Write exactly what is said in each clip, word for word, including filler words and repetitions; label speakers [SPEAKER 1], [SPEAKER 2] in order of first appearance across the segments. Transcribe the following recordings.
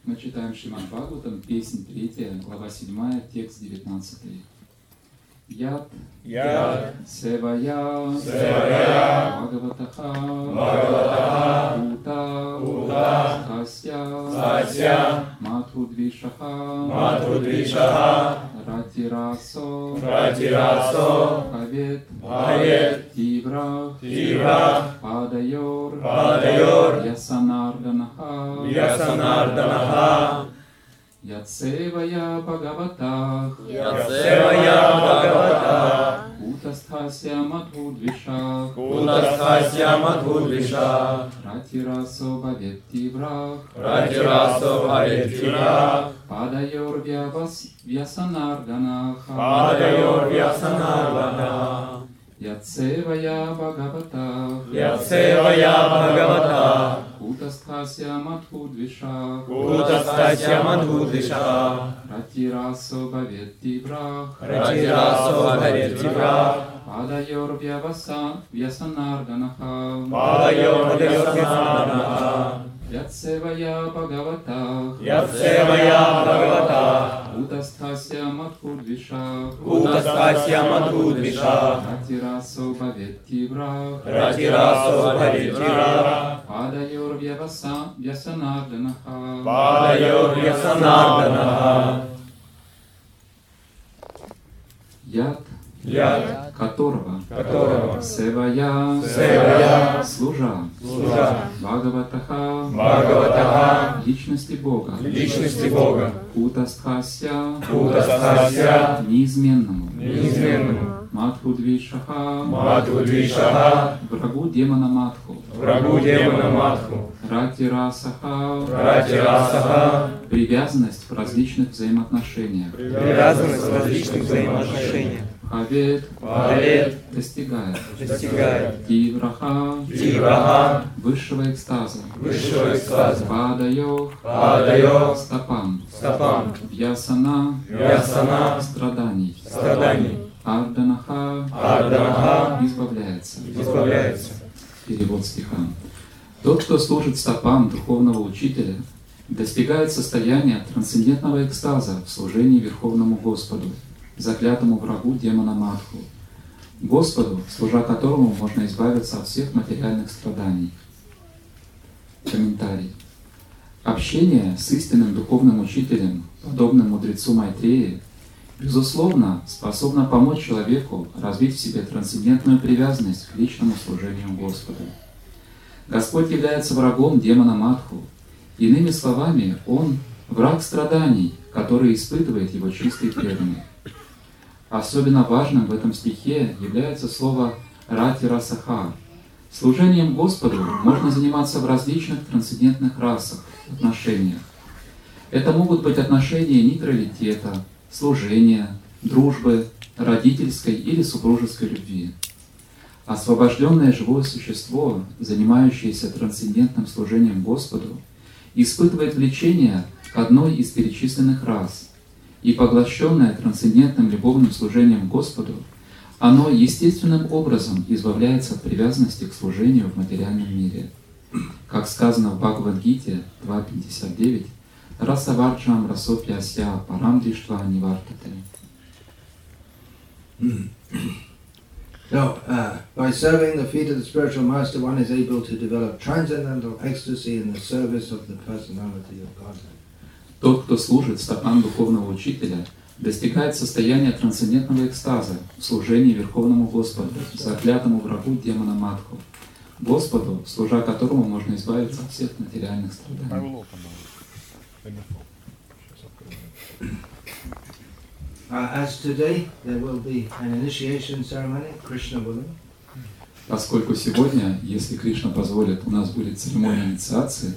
[SPEAKER 1] Мы читаем Шримад Бхагаватам, песнь третья, глава седьмая, текст девятнадцатый. Ят,
[SPEAKER 2] Ят,
[SPEAKER 1] Севая,
[SPEAKER 2] Севая,
[SPEAKER 1] Бхагаватаха,
[SPEAKER 2] Бхагаватаха,
[SPEAKER 1] Ута,
[SPEAKER 2] Ута,
[SPEAKER 1] Хасya,
[SPEAKER 2] Хасya,
[SPEAKER 1] Матхудвишаха,
[SPEAKER 2] Матхудвишаха,
[SPEAKER 1] Ратирасо,
[SPEAKER 2] Ратирасо,
[SPEAKER 1] Бхавет,
[SPEAKER 2] Бхавет,
[SPEAKER 1] Тивра,
[SPEAKER 2] Тивра,
[SPEAKER 1] Падайор,
[SPEAKER 2] Падайор,
[SPEAKER 1] Ясанарданаха,
[SPEAKER 2] Ясанарданаха,
[SPEAKER 1] Ятсевая Бхагаватах,
[SPEAKER 2] Ятсевая Бхагаватах,
[SPEAKER 1] Кутастхасya Матхудвишах,
[SPEAKER 2] Кутастхасya Матхудвишах,
[SPEAKER 1] Ратирасо Бхавет Тивра,
[SPEAKER 2] Ратирасо Бхавет Тивра,
[SPEAKER 1] Падайор Вьясанарданаха,
[SPEAKER 2] Падайор Вьясанарданаха,
[SPEAKER 1] Ятсевая Бхагаватах,
[SPEAKER 2] Ятсевая Бхагаватах,
[SPEAKER 1] Кутастхасya Матхудвишах,
[SPEAKER 2] Кутастхасya Матхудвишах,
[SPEAKER 1] Ратирасо Бхавет Тивра,
[SPEAKER 2] Ратирасо Бхавет Тивра,
[SPEAKER 1] Падайор Вьясанарданаха,
[SPEAKER 2] Падайор Вьясанарданаха,
[SPEAKER 1] Ятсевая Бхагаватах,
[SPEAKER 2] Ятсевая Бхагаватах,
[SPEAKER 1] Кутастхасya Матхудвишах,
[SPEAKER 2] Кутастхасya Матхудвишах,
[SPEAKER 1] Ратирасо Бхавет Тивра,
[SPEAKER 2] Ратирасо Бхавет Тивра,
[SPEAKER 1] Падайор Вьясанарданаха,
[SPEAKER 2] Падайор Вьясанарданаха,
[SPEAKER 1] Яд,
[SPEAKER 2] Яд,
[SPEAKER 1] которого,
[SPEAKER 2] которого,
[SPEAKER 1] Севая,
[SPEAKER 2] Севая,
[SPEAKER 1] служа,
[SPEAKER 2] служа,
[SPEAKER 1] Бхагаватаха,
[SPEAKER 2] Бхагаватаха,
[SPEAKER 1] личности Бога,
[SPEAKER 2] личности Бога,
[SPEAKER 1] Кутастхасya,
[SPEAKER 2] Кутастхасya,
[SPEAKER 1] неизменному,
[SPEAKER 2] неизменному,
[SPEAKER 1] Матхудвишаха,
[SPEAKER 2] Матхудвишаха,
[SPEAKER 1] врагу демона Матху,
[SPEAKER 2] врагу демона Матху,
[SPEAKER 1] Ратирасаха,
[SPEAKER 2] Ратирасаха,
[SPEAKER 1] привязанность в различных взаимоотношениях,
[SPEAKER 2] привязанность в различных взаимоотношениях,
[SPEAKER 1] Бхавет,
[SPEAKER 2] Бхавет,
[SPEAKER 1] достигает,
[SPEAKER 2] достигает,
[SPEAKER 1] Тивраха,
[SPEAKER 2] Тивраха,
[SPEAKER 1] высшего экстаза,
[SPEAKER 2] высшего экстаза,
[SPEAKER 1] Падайо,
[SPEAKER 2] Падайо,
[SPEAKER 1] стопам,
[SPEAKER 2] стопам,
[SPEAKER 1] Вьясана,
[SPEAKER 2] Вьясана,
[SPEAKER 1] страданий,
[SPEAKER 2] страданий,
[SPEAKER 1] Арданаха,
[SPEAKER 2] Арданаха,
[SPEAKER 1] избавляется.
[SPEAKER 2] избавляется.
[SPEAKER 1] Перевод стиха. Тот, кто служит стопам духовного учителя, достигает состояния трансцендентного экстаза в служении Верховному Господу, заклятому врагу демона Матху, Господу, служа которому можно избавиться от всех материальных страданий. Комментарий. Общение с истинным духовным учителем, подобным мудрецу Майтреи, безусловно, способно помочь человеку развить в себе трансцендентную привязанность к личному служению Господу. Господь является врагом демона Матху. Иными словами, Он — враг страданий, который испытывает его чистый преданный. Особенно важным в этом стихе является слово «ратирасаха». Служением Господу можно заниматься в различных трансцендентных расах, отношениях. Это могут быть отношения нейтралитета, служения, дружбы, родительской или супружеской любви. Освобожденное живое существо, занимающееся трансцендентным служением Господу, испытывает влечение к одной из перечисленных рас, и поглощенное трансцендентным любовным служением Господу, оно естественным образом избавляется от привязанности к служению в материальном мире. Как сказано в Бхагавад-гите два пятьдесят девять, «Расаварджам расопьяся парам диштва нивартате».
[SPEAKER 3] So, uh, by serving the feet of the spiritual master, one is able to develop transcendental ecstasy in the service of the personality of Godhead.
[SPEAKER 1] Тот, кто служит стопам духовного учителя, достигает состояния трансцендентного экстаза в служении Верховному Господу, заклятому врагу демона Матху, Господу, служа которому можно избавиться от всех материальных страданий.
[SPEAKER 3] Uh, as today, there will be an initiation ceremony, Krishna willing.
[SPEAKER 1] Поскольку сегодня, если Кришна позволит, у нас будет церемония инициации,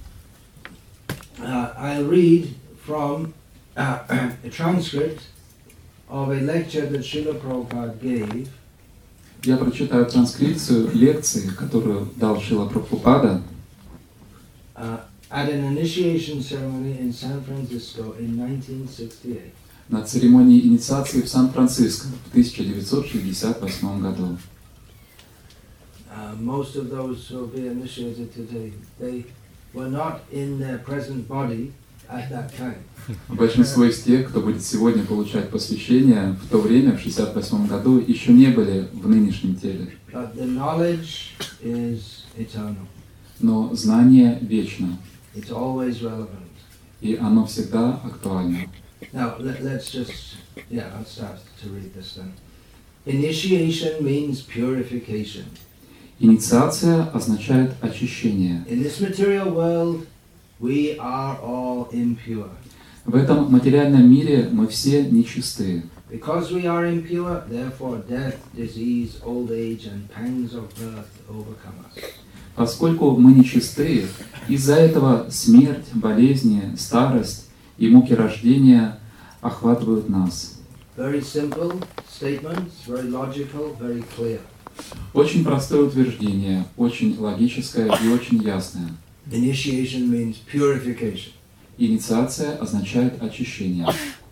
[SPEAKER 3] Uh, I read from uh, a transcript of a lecture that Srila Prabhupada gave.
[SPEAKER 1] Я прочитаю транскрипцию лекции, которую дал Шрила Прабхупада
[SPEAKER 3] uh, at an initiation ceremony in San Francisco in nineteen sixty-eight.
[SPEAKER 1] на церемонии инициации в Сан-Франциско в тысяча девятьсот шестьдесят восьмом году.
[SPEAKER 3] Uh, most of those who will be initiated today, they were not in their present body at that time.
[SPEAKER 1] Большинство из тех, кто будет сегодня получать посвящение, в то время, в шестьдесят восьмом году, еще не были в нынешнем теле.
[SPEAKER 3] But the knowledge is eternal.
[SPEAKER 1] Но знание вечно,
[SPEAKER 3] It's always relevant.
[SPEAKER 1] и оно всегда актуально.
[SPEAKER 3] Now, let, let's just, yeah, I'll start to read this then. Initiation means purification.
[SPEAKER 1] Инициация означает очищение.
[SPEAKER 3] In this material world, we are all impure.
[SPEAKER 1] В этом материальном мире мы все нечистые.
[SPEAKER 3] Because we are impure, therefore death, disease, old age, and pangs of birth overcome us.
[SPEAKER 1] Поскольку мы нечистые, из-за этого смерть, болезни, старость и муки рождения охватывают нас.
[SPEAKER 3] Very simple statements, very logical, very clear.
[SPEAKER 1] Очень простое утверждение, очень логическое и очень ясное.
[SPEAKER 3] Initiation means purification.
[SPEAKER 1] Инициация означает очищение.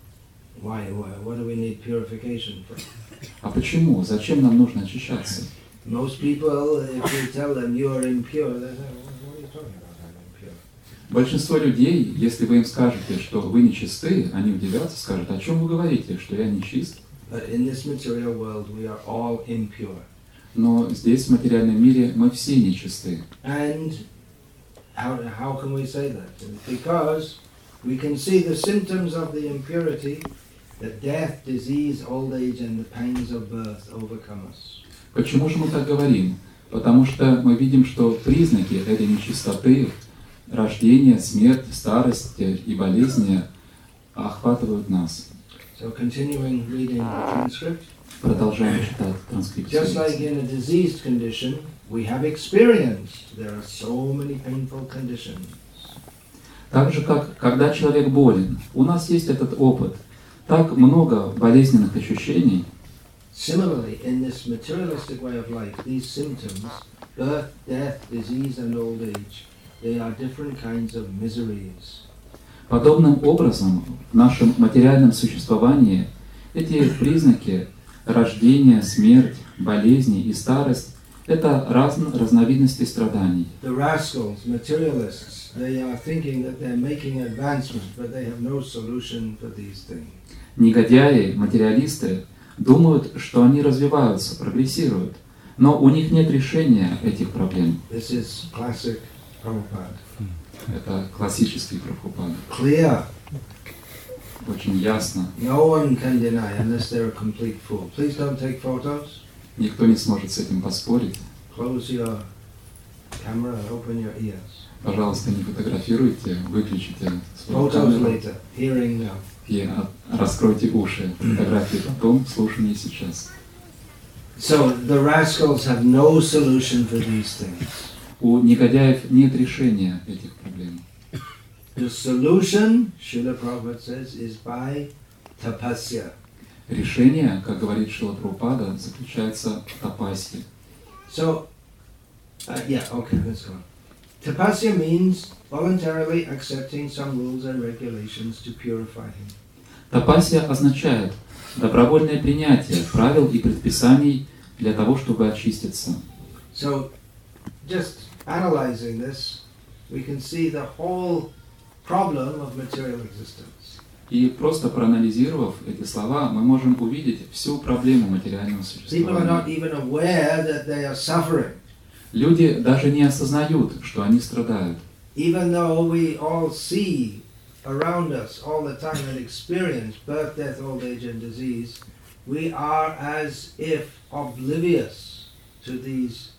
[SPEAKER 3] Why? Why? What do we need purification for?
[SPEAKER 1] А почему? Зачем нам нужно очищаться?
[SPEAKER 3] Most people, if we tell them you are impure, they say, what are you talking about? I'm impure.
[SPEAKER 1] Большинство людей, если вы им скажете, что вы нечисты, они удивятся, скажут, о чем вы говорите, что я нечист?
[SPEAKER 3] But in this material world, we are all impure.
[SPEAKER 1] Но здесь, в материальном мире, мы все нечисты.
[SPEAKER 3] And how, how can we say that? Because we can see the symptoms of the impurity, that death, disease, old age, and the pangs of birth overcome us.
[SPEAKER 1] Почему же мы так говорим? Потому что мы видим, что признаки этой нечистоты, рождение, смерть, старость и болезни охватывают нас.
[SPEAKER 3] So continuing reading the transcript.
[SPEAKER 1] Продолжаем читать транскрипцию.
[SPEAKER 3] Just like in a diseased condition, we have experienced there are so many painful conditions.
[SPEAKER 1] Так же, как когда человек болен, у нас есть этот опыт. Так много болезненных ощущений.
[SPEAKER 3] Similarly, in this materialistic way of life, these symptoms, birth, death, disease, and old age, they are different kinds of miseries.
[SPEAKER 1] Подобным образом, в нашем материальном существовании эти признаки рождения, смерть, болезни и старость – это разные разновидности страданий.
[SPEAKER 3] The rascals, materialists, they are thinking that they're making advancement, but they have no solution for these things.
[SPEAKER 1] Негодяи, материалисты думают, что они развиваются, прогрессируют, но у них нет решения этих проблем.
[SPEAKER 3] This is classic Prabhupada.
[SPEAKER 1] Это классический Прабхупада.
[SPEAKER 3] Clear.
[SPEAKER 1] Очень ясно.
[SPEAKER 3] No one can deny unless they're a complete fool. Please don't take photos.
[SPEAKER 1] Никто не сможет с этим поспорить.
[SPEAKER 3] Close your camera and open your ears.
[SPEAKER 1] Пожалуйста, не фотографируйте, выключите свою
[SPEAKER 3] Photos
[SPEAKER 1] камеру
[SPEAKER 3] later, hearing now.
[SPEAKER 1] и от- раскройте уши. Фотографии потом, слушание сейчас.
[SPEAKER 3] So the rascals have no solution for these things.
[SPEAKER 1] У негодяев нет решения этих проблем.
[SPEAKER 3] The solution, Srila Prabhupada says, is by tapasya.
[SPEAKER 1] Решение, как говорит Шрила Прабхупада, заключается в тапасье.
[SPEAKER 3] So, uh, yeah, okay, let's go on. Tapasya means voluntarily accepting some rules and regulations to purify him.
[SPEAKER 1] Тапасья означает добровольное принятие правил и предписаний для того, чтобы очиститься.
[SPEAKER 3] So, just analyzing this, we can see the whole problem of material existence.
[SPEAKER 1] И просто проанализировав эти слова, мы можем увидеть всю проблему материального
[SPEAKER 3] People are not
[SPEAKER 1] существования.
[SPEAKER 3] even aware that they are suffering.
[SPEAKER 1] Люди даже не осознают, что они страдают.
[SPEAKER 3] Even though we all see around us all the time and experience birth, death, old age, and disease, we are as if oblivious to these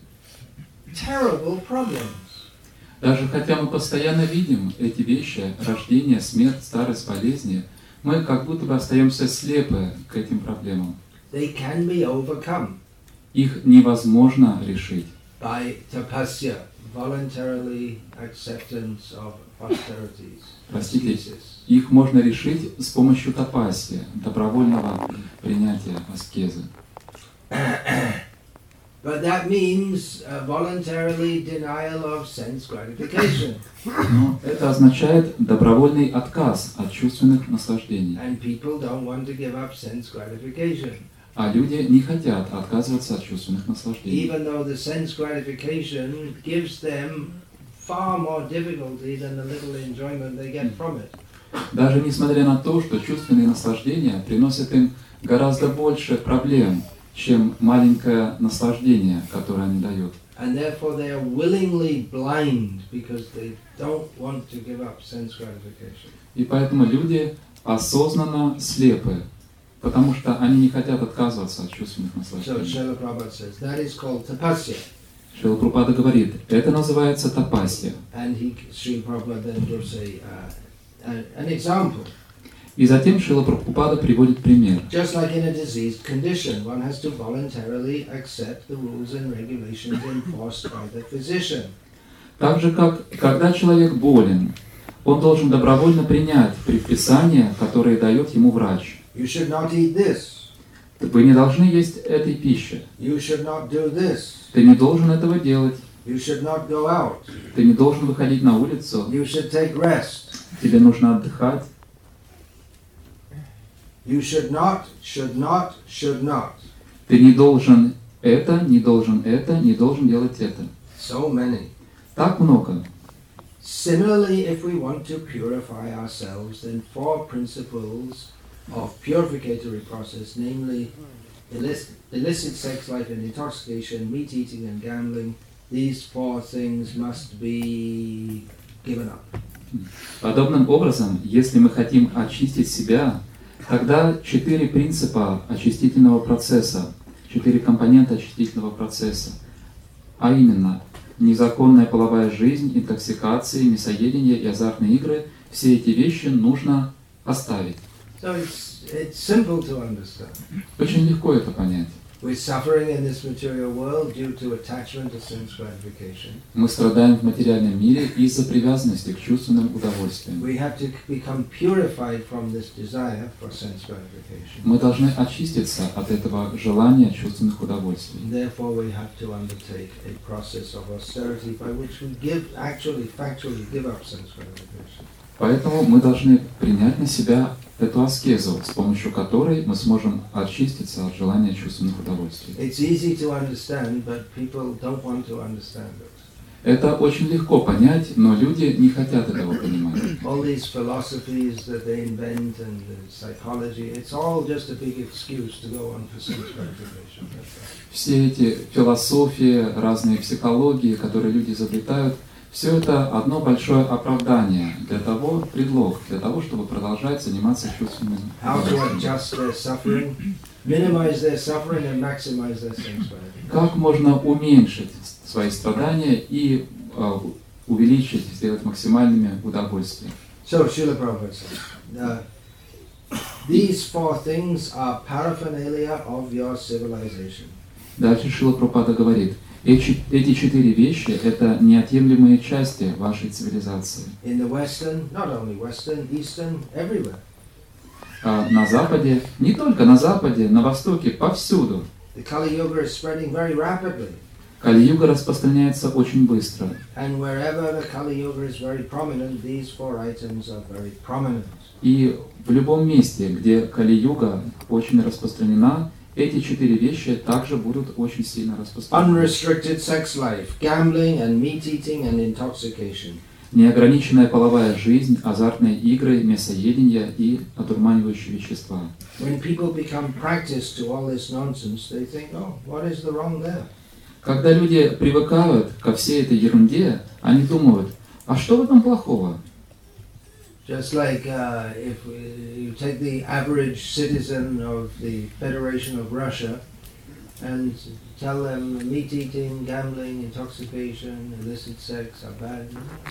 [SPEAKER 3] terrible problems.
[SPEAKER 1] Даже хотя мы постоянно видим эти вещи, рождение, смерть, старость, болезни, мы как будто бы остаемся слепы к этим проблемам.
[SPEAKER 3] They can be overcome
[SPEAKER 1] Их невозможно решить.
[SPEAKER 3] by tapasya, voluntarily acceptance of austerities,
[SPEAKER 1] Простите,
[SPEAKER 3] ascesis.
[SPEAKER 1] их можно решить с помощью тапасьи, добровольного принятия аскезы.
[SPEAKER 3] But that means uh, voluntarily denial of sense gratification.
[SPEAKER 1] Но это означает добровольный отказ от чувственных наслаждений.
[SPEAKER 3] And people don't want to give up sense gratification.
[SPEAKER 1] А люди не хотят отказываться от чувственных наслаждений.
[SPEAKER 3] Even though the sense gratification gives them far more difficulty than the little enjoyment they get from it.
[SPEAKER 1] Даже несмотря на то, что чувственные наслаждения приносят им гораздо больше проблем, чем маленькое наслаждение, которое они дают.
[SPEAKER 3] And therefore they are willingly blind because they don't want to give up sense gratification.
[SPEAKER 1] И поэтому люди осознанно слепы, потому что они не хотят отказываться от чувственных
[SPEAKER 3] So
[SPEAKER 1] наслаждений.
[SPEAKER 3] Srila Prabhupada says that is called tapasya.
[SPEAKER 1] Шрила Прабхупада говорит, это называется тапасья.
[SPEAKER 3] And he, Srila Prabhupada then gives a, uh, an, an example.
[SPEAKER 1] И затем Шрила Прабхупада приводит пример.
[SPEAKER 3] Just like in a diseased condition, one has to voluntarily accept the rules and regulations enforced by the physician.
[SPEAKER 1] Так же, как когда человек болен, он должен добровольно принять предписания, которые дает ему врач.
[SPEAKER 3] You should not eat this.
[SPEAKER 1] Вы не должны есть этой пищи.
[SPEAKER 3] You should not do this.
[SPEAKER 1] Ты не должен этого делать.
[SPEAKER 3] You should not go out.
[SPEAKER 1] Ты не должен выходить на улицу.
[SPEAKER 3] You should take rest.
[SPEAKER 1] Тебе нужно отдыхать.
[SPEAKER 3] You should not, should not, should not.
[SPEAKER 1] Ты не должен это, не должен это, не должен делать это.
[SPEAKER 3] So many.
[SPEAKER 1] Так много.
[SPEAKER 3] Similarly, if we want to purify ourselves, then four principles of purificatory process, namely illicit, illicit sex life and intoxication, meat eating and gambling, these four things must be given up.
[SPEAKER 1] Подобным образом, если мы хотим очистить себя, тогда четыре принципа очистительного процесса, четыре компонента очистительного процесса, а именно незаконная половая жизнь, интоксикации, мясоедение и азартные игры, все эти вещи нужно оставить.
[SPEAKER 3] So it's, it's simple to understand.
[SPEAKER 1] Очень легко это понять.
[SPEAKER 3] We're suffering in this material world due to attachment to sense gratification.
[SPEAKER 1] Мы страдаем в материальном мире из-за привязанности к чувственным удовольствиям.
[SPEAKER 3] We have to become purified from this desire for sense gratification.
[SPEAKER 1] Мы должны очиститься от этого желания чувственных удовольствий.
[SPEAKER 3] Therefore, we have to undertake a process of austerity by which we give, actually, factually give up sense gratification.
[SPEAKER 1] Поэтому мы должны принять на себя эту аскезу, с помощью которой мы сможем очиститься от желания чувственных удовольствий.
[SPEAKER 3] It's easy to understand, but people don't want to understand it.
[SPEAKER 1] Это очень легко понять, но люди не хотят этого понимать.
[SPEAKER 3] All these philosophies that they invent and the psychology, it's all just a big excuse to go on for sense gratification.
[SPEAKER 1] Все эти философии, разные психологии, которые люди изобретают, все это одно большое оправдание для того, предлог, для того, чтобы продолжать заниматься чувственным
[SPEAKER 3] How to
[SPEAKER 1] удовольствием.
[SPEAKER 3] adjust their suffering, minimize their suffering and maximize their sense gratification.
[SPEAKER 1] Как можно уменьшить свои страдания и э, увеличить, сделать максимальными удовольствия.
[SPEAKER 3] So, Srila Prabhupada says, uh, these four things are paraphernalia of your civilization.
[SPEAKER 1] Дальше Шрила Прабхупада говорит, эти, эти четыре вещи – это неотъемлемые части вашей цивилизации.
[SPEAKER 3] In the Western, not only Western, Eastern, everywhere.
[SPEAKER 1] А на Западе, не только на Западе, на Востоке, повсюду.
[SPEAKER 3] The Kali Yuga is spreading very rapidly.
[SPEAKER 1] Кали-юга распространяется очень быстро.
[SPEAKER 3] And wherever the Kali Yuga is very prominent, these four items are very prominent.
[SPEAKER 1] И в любом месте, где Кали-юга очень распространена, эти четыре вещи также будут очень сильно распространены.
[SPEAKER 3] Unrestricted sex life, gambling and meat eating and intoxication.
[SPEAKER 1] Неограниченная половая жизнь, азартные игры, мясоедение и одурманивающие вещества.
[SPEAKER 3] When people become practiced to all this nonsense, they think, oh, what is the wrong there?
[SPEAKER 1] Когда люди привыкают ко всей этой ерунде, они думают, а что в этом плохого?
[SPEAKER 3] Just like uh, if you take the average citizen of the Federation of Russia and tell them meat eating, gambling, intoxication, illicit sex are bad.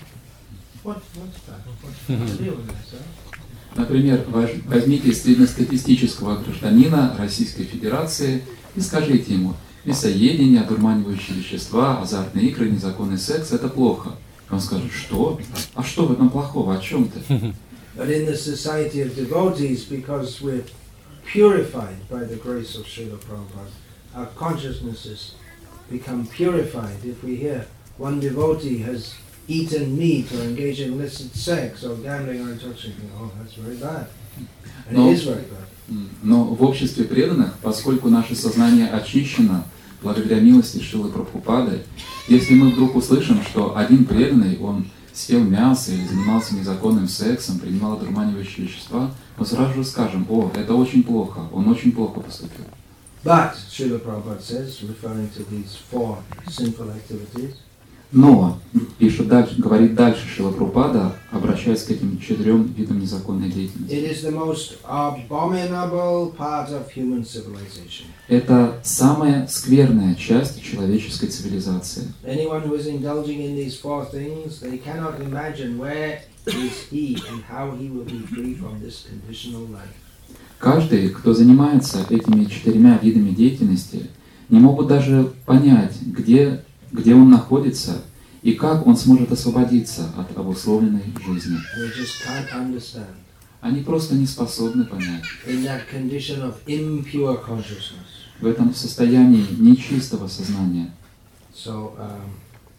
[SPEAKER 3] What, what's that? What's the deal with that, sir?
[SPEAKER 1] Например, возьмите среднестатистического гражданина Российской Федерации и скажите ему, мясоедение, одурманивающие вещества, азартные игры, незаконный секс – это плохо. Он скажет, что? А что в этом плохого? О чем ты?
[SPEAKER 3] But in the society of devotees, because we're purified by the grace of Srila Prabhupada, our consciousnesses become purified. If we hear one devotee has eaten meat or engaged in illicit sex or gambling or intoxication, oh, that's very bad. And
[SPEAKER 1] No.
[SPEAKER 3] it is very bad.
[SPEAKER 1] Но в обществе преданных, поскольку наше сознание очищено благодаря милости Шрилы Прабхупады, если мы вдруг услышим, что один преданный, он съел мясо или занимался незаконным сексом, принимал одурманивающие вещества, мы сразу же скажем: о, это очень плохо, он очень плохо поступил.
[SPEAKER 3] But, Srila Prabhupada says, referring to these four sinful activities,
[SPEAKER 1] Но, пишет дальше, говорит дальше Шрила Прабхупада, обращаясь к этим четырем видам незаконной деятельности.
[SPEAKER 3] it is the most abominable part of human civilization.
[SPEAKER 1] Это самая скверная часть человеческой цивилизации.
[SPEAKER 3] Anyone who is indulging in these four things, they cannot imagine where is he and how he will be free from this conditional life.
[SPEAKER 1] Каждый, кто занимается этими четырьмя видами деятельности, не могут даже понять, где, где он находится и как он сможет освободиться от обусловленной жизни.
[SPEAKER 3] They just can't understand.
[SPEAKER 1] Они просто не способны понять.
[SPEAKER 3] In that condition of impure consciousness.
[SPEAKER 1] В этом состоянии нечистого сознания.
[SPEAKER 3] So, um,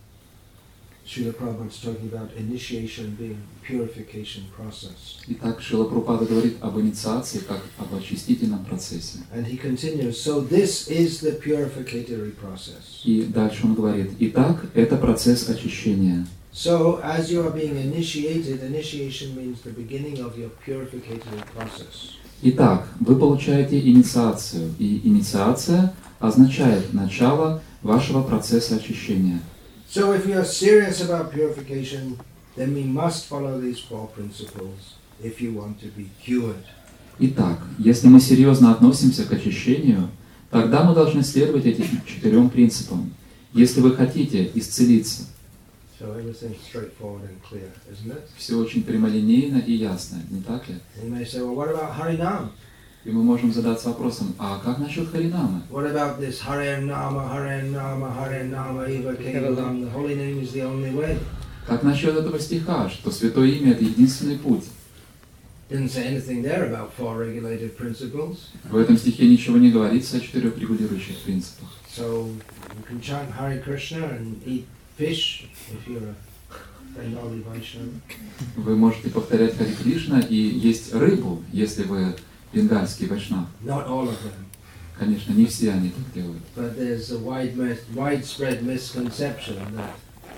[SPEAKER 3] Srila Prabhupada is talking about initiation being purification process.
[SPEAKER 1] Итак, Шрила Прабхупада говорит об инициации как об очистительном процессе.
[SPEAKER 3] And he continues, so this is the purificatory process.
[SPEAKER 1] И дальше он говорит: итак, это процесс очищения.
[SPEAKER 3] So, as you are being initiated, initiation means the beginning of your purificatory process.
[SPEAKER 1] Итак, вы получаете инициацию, и инициация означает начало вашего процесса очищения.
[SPEAKER 3] So, if we are serious about purification, then we must follow these four principles if you want to be cured.
[SPEAKER 1] Итак, если мы серьезно относимся к очищению, тогда мы должны следовать этим четырем принципам, если вы хотите исцелиться.
[SPEAKER 3] So everything's straightforward and clear, isn't it?
[SPEAKER 1] Все очень прямолинейно и ясно, не так ли?
[SPEAKER 3] And you may say, well, what about Harinam?
[SPEAKER 1] И мы можем задаться вопросом: а как насчет Харинамы?
[SPEAKER 3] What about this Hare Nama, Hare Nama, Hare Nama, Eva Kevalam? The holy name is the only way.
[SPEAKER 1] Как насчет этого стиха, что святое имя — это единственный путь?
[SPEAKER 3] Didn't say anything there about four regulated principles.
[SPEAKER 1] В этом стихе ничего не говорится о четырех регулирующих принципах.
[SPEAKER 3] So you can chant Hare Krishna and eat fish if you're a Bengali Vaishnava.
[SPEAKER 1] Вы можете повторять Хари Кришна и есть рыбу, если вы бенгальский вайшнав.
[SPEAKER 3] Not all of them.
[SPEAKER 1] Конечно, не все они так делают.
[SPEAKER 3] But there's a wide, widespread misconception that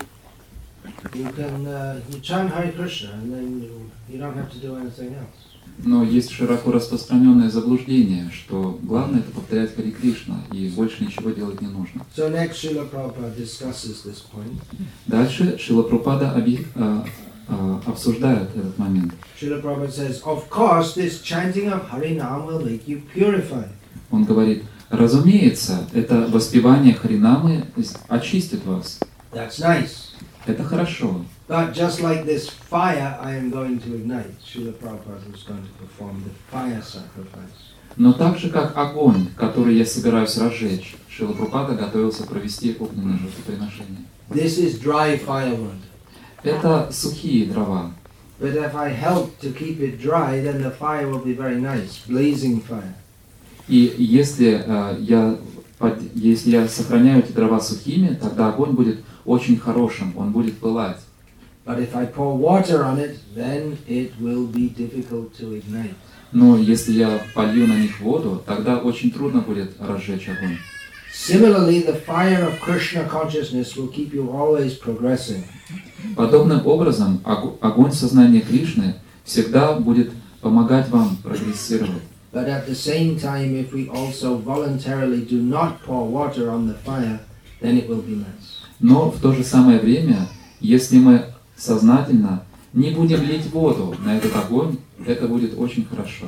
[SPEAKER 3] you can uh, you chant Hare Krishna and then you, you don't have to do anything else.
[SPEAKER 1] Но есть широко распространенное заблуждение, что главное — это повторять Хари Кришна, и больше ничего делать не нужно.
[SPEAKER 3] So next, Srila Prabhupada discusses this point.
[SPEAKER 1] Дальше Шрила Прабхупада объ- а, а, обсуждает этот момент.
[SPEAKER 3] Srila Prabhupada says, of course, this chanting of Harinam will make you purify.
[SPEAKER 1] Он говорит: разумеется, это воспевание Харинамы очистит вас.
[SPEAKER 3] That's nice.
[SPEAKER 1] Это хорошо.
[SPEAKER 3] But just like this fire I am going to ignite, Srila Prabhupada was going to perform the fire sacrifice.
[SPEAKER 1] Но так же, как огонь, который я собираюсь разжечь, Шрила Прабхупада готовился провести огненное жертвоприношение.
[SPEAKER 3] This is dry firewood.
[SPEAKER 1] Это сухие дрова.
[SPEAKER 3] But if I help to keep it dry, then the fire will be very nice, blazing fire.
[SPEAKER 1] И если, э, я, под, если я сохраняю эти дрова сухими, тогда огонь будет очень хорошим, он будет пылать.
[SPEAKER 3] But if I pour water on it, then it will be difficult to ignite.
[SPEAKER 1] Но если я полью на них воду, тогда очень трудно будет разжечь огонь.
[SPEAKER 3] Similarly, the fire of Krishna consciousness will keep you always progressing.
[SPEAKER 1] Подобным образом ог- огонь сознания Кришны всегда будет помогать вам прогрессировать.
[SPEAKER 3] But at the same time, if we also voluntarily do not pour water on the fire, then it will be nice.
[SPEAKER 1] Но в то же самое время, если мы сознательно не будем лить воду на этот огонь, это будет очень хорошо.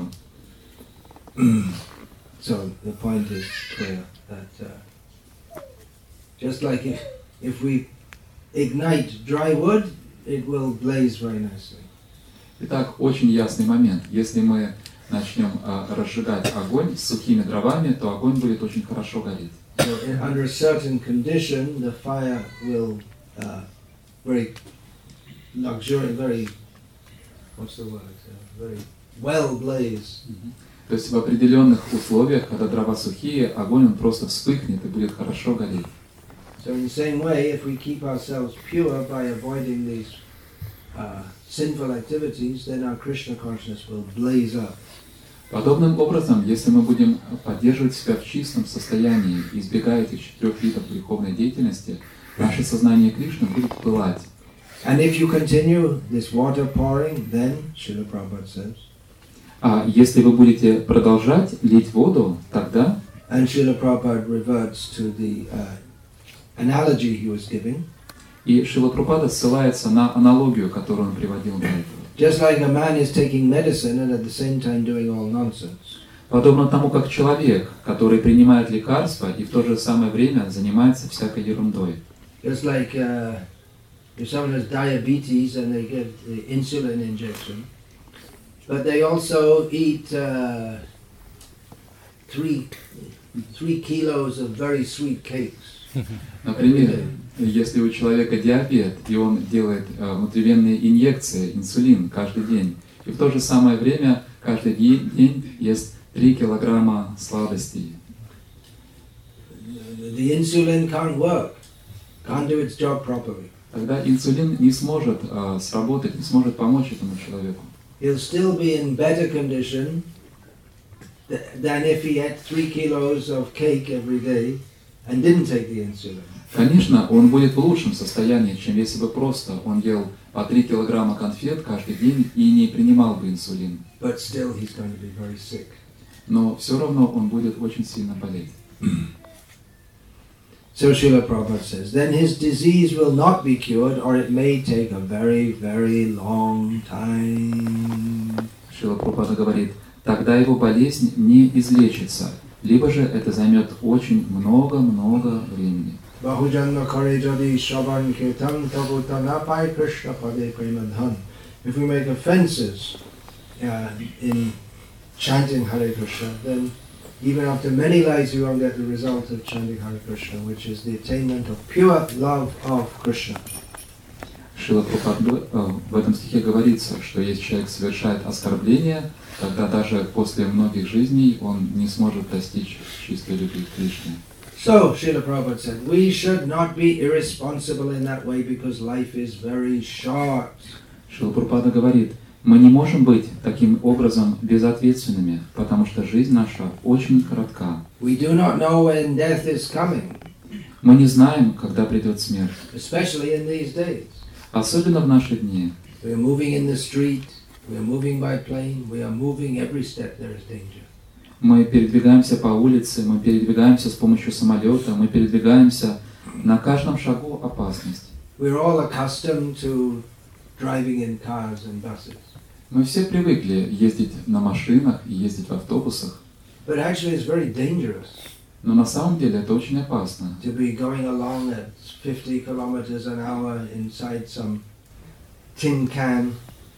[SPEAKER 3] So the point is clear that uh, just like if, if we ignite dry wood, it will blaze very nicely.
[SPEAKER 1] Итак, очень ясный момент. Если мы начнем э, разжигать огонь с сухими дровами, то огонь будет очень хорошо гореть.
[SPEAKER 3] So in, under a certain condition, the fire will uh, very luxuriant, very, what's the word, uh, very well blaze.
[SPEAKER 1] То есть в определенных условиях, когда дрова сухие, огонь он просто вспыхнет и будет хорошо гореть.
[SPEAKER 3] So in the same way, if we keep ourselves pure by avoiding these uh, sinful activities, then our Krishna consciousness will blaze up.
[SPEAKER 1] Подобным образом, если мы будем поддерживать себя в чистом состоянии, избегая этих четырех видов греховной деятельности, наше сознание Кришны будет пылать.
[SPEAKER 3] And if you continue this water pouring, then, Srila Prabhupada says,
[SPEAKER 1] А если вы будете продолжать лить воду, тогда,
[SPEAKER 3] and Srila Prabhupada reverts to the uh, analogy he was giving,
[SPEAKER 1] и Шрила Прабхупада ссылается на аналогию, которую он приводил до этого.
[SPEAKER 3] just like a man is taking medicine and at the same time doing all nonsense.
[SPEAKER 1] Подобно тому, как человек, который принимает лекарства и в то же самое время занимается всякой ерундой.
[SPEAKER 3] Just like uh, if someone has diabetes and they get the insulin injection, but they also eat uh, three, three kilos of very sweet cakes.
[SPEAKER 1] Например, если у человека диабет, и он делает э, внутривенные инъекции, инсулин каждый день, и в то же самое время каждый день, день ест три килограмма сладостей.
[SPEAKER 3] The insulin can't work, can't do its job properly.
[SPEAKER 1] Тогда инсулин не сможет э, сработать, не сможет помочь этому человеку.
[SPEAKER 3] He'll still be in better condition th- than if he ate three kilos of cake every day and didn't take the insulin.
[SPEAKER 1] Конечно, он будет в лучшем состоянии, чем если бы просто он ел по три килограмма конфет каждый день и не принимал бы инсулин.
[SPEAKER 3] But still he's going to be very sick.
[SPEAKER 1] Но все равно он будет очень сильно болеть.
[SPEAKER 3] So Srila Prabhupada says, then his disease will not be cured, or it may take a very, very long time.
[SPEAKER 1] Шрила Прабхупада говорит, тогда его болезнь не излечится, либо же это займет очень много-много времени.
[SPEAKER 3] Bahujanna kare jadi shravan kirtan tabu tanapai Krishna pade premadhan. If we make offenses uh, in chanting Hare Krishna, then even after many lives we won't get the result of chanting Hare Krishna, which is the attainment of pure love of Krishna.
[SPEAKER 1] Шрила Прабхупада в этом стихе говорится, что если человек совершает оскорбление, тогда даже после многих жизней он не сможет достичь чистой любви к Кришне.
[SPEAKER 3] So, Srila Prabhupada said, we should not be irresponsible in that way because life is very short.
[SPEAKER 1] Шрила Прабхупада говорит, мы не можем быть таким образом безответственными, потому что жизнь наша очень коротка.
[SPEAKER 3] We do not know when death is coming,
[SPEAKER 1] Мы не знаем, когда придет смерть,
[SPEAKER 3] especially in these days.
[SPEAKER 1] особенно в наши дни.
[SPEAKER 3] We are moving in the street, we are moving by plane, we are moving every step there is danger.
[SPEAKER 1] Мы передвигаемся по улице, мы передвигаемся с помощью самолета, мы передвигаемся на каждом шагу опасность.
[SPEAKER 3] We are all accustomed to driving in cars and buses.
[SPEAKER 1] Мы все привыкли ездить на машинах и ездить в автобусах,
[SPEAKER 3] But actually it's very dangerous
[SPEAKER 1] но на самом деле это очень опасно.
[SPEAKER 3] to be going along at fifty kilometers an hour inside some tin can.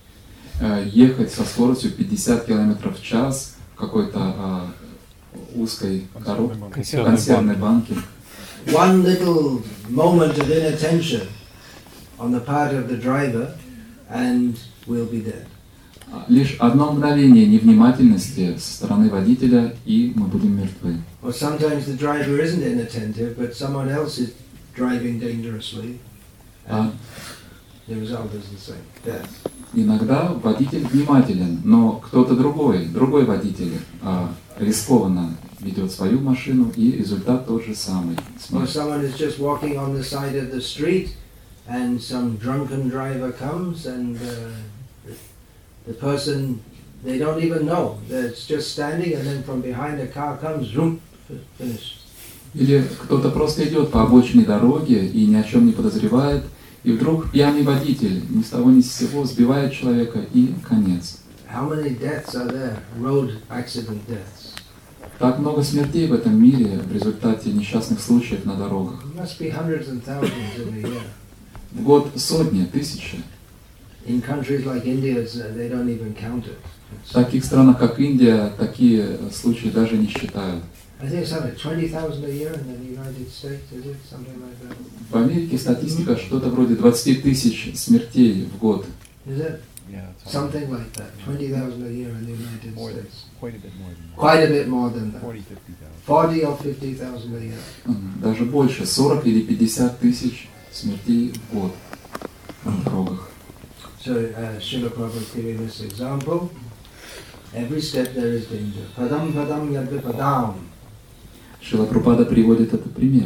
[SPEAKER 1] Э, Ехать со скоростью пятьдесят километров в час в какой-то а, узкой коробке,
[SPEAKER 2] Консервной
[SPEAKER 1] консервной банке.
[SPEAKER 3] One little moment of inattention on the part of the driver and we'll be dead.
[SPEAKER 1] Лишь одно мгновение невнимательности со стороны водителя, и мы будем мертвы.
[SPEAKER 3] Or sometimes the driver isn't inattentive, but someone else is driving dangerously, and
[SPEAKER 1] А
[SPEAKER 3] the result is the same, death.
[SPEAKER 1] иногда водитель внимателен, но кто-то другой, другой водитель а, рискованно ведет свою машину, и результат тот же самый.
[SPEAKER 3] Or
[SPEAKER 1] Смерть.
[SPEAKER 3] someone is just walking on the side of the street, and some drunken driver comes, and uh, the, the person, they don't even know. They're just standing, and then from behind the car comes, zoom, finished.
[SPEAKER 1] Или кто-то просто идет по обочине дороги и ни о чем не подозревает, и вдруг пьяный водитель ни с того ни с сего сбивает человека, и конец.
[SPEAKER 3] How many deaths are there? Road accident deaths.
[SPEAKER 1] Так много смертей в этом мире в результате несчастных случаев на дорогах.
[SPEAKER 3] There must be hundreds and thousands in a year.
[SPEAKER 1] В год сотни, тысячи.
[SPEAKER 3] In countries like India, it's, uh, they don't even count it.
[SPEAKER 1] В таких странах, как Индия, такие случаи даже не считают.
[SPEAKER 3] I think it's something like twenty thousand a year in the United States, is it? Something like that.
[SPEAKER 1] В Америке статистика что-то вроде двадцать тысяч смертей в год.
[SPEAKER 3] Is it?
[SPEAKER 2] Yeah, it's
[SPEAKER 3] Something like that. twenty thousand a year in the United
[SPEAKER 2] more than,
[SPEAKER 3] States.
[SPEAKER 2] quite a bit more than that.
[SPEAKER 3] Quite a bit more than that.
[SPEAKER 2] forty, fifty thousand.
[SPEAKER 3] forty or fifty thousand a year.
[SPEAKER 1] М, Даже больше, сорок или пятьдесят тысяч смертей в год на дорогах.
[SPEAKER 3] So, uh, Srila Prabhupada is giving this example. Every step there is danger. Padam padam yadvipadam.
[SPEAKER 1] Шрила Прабхупада приводит этот пример.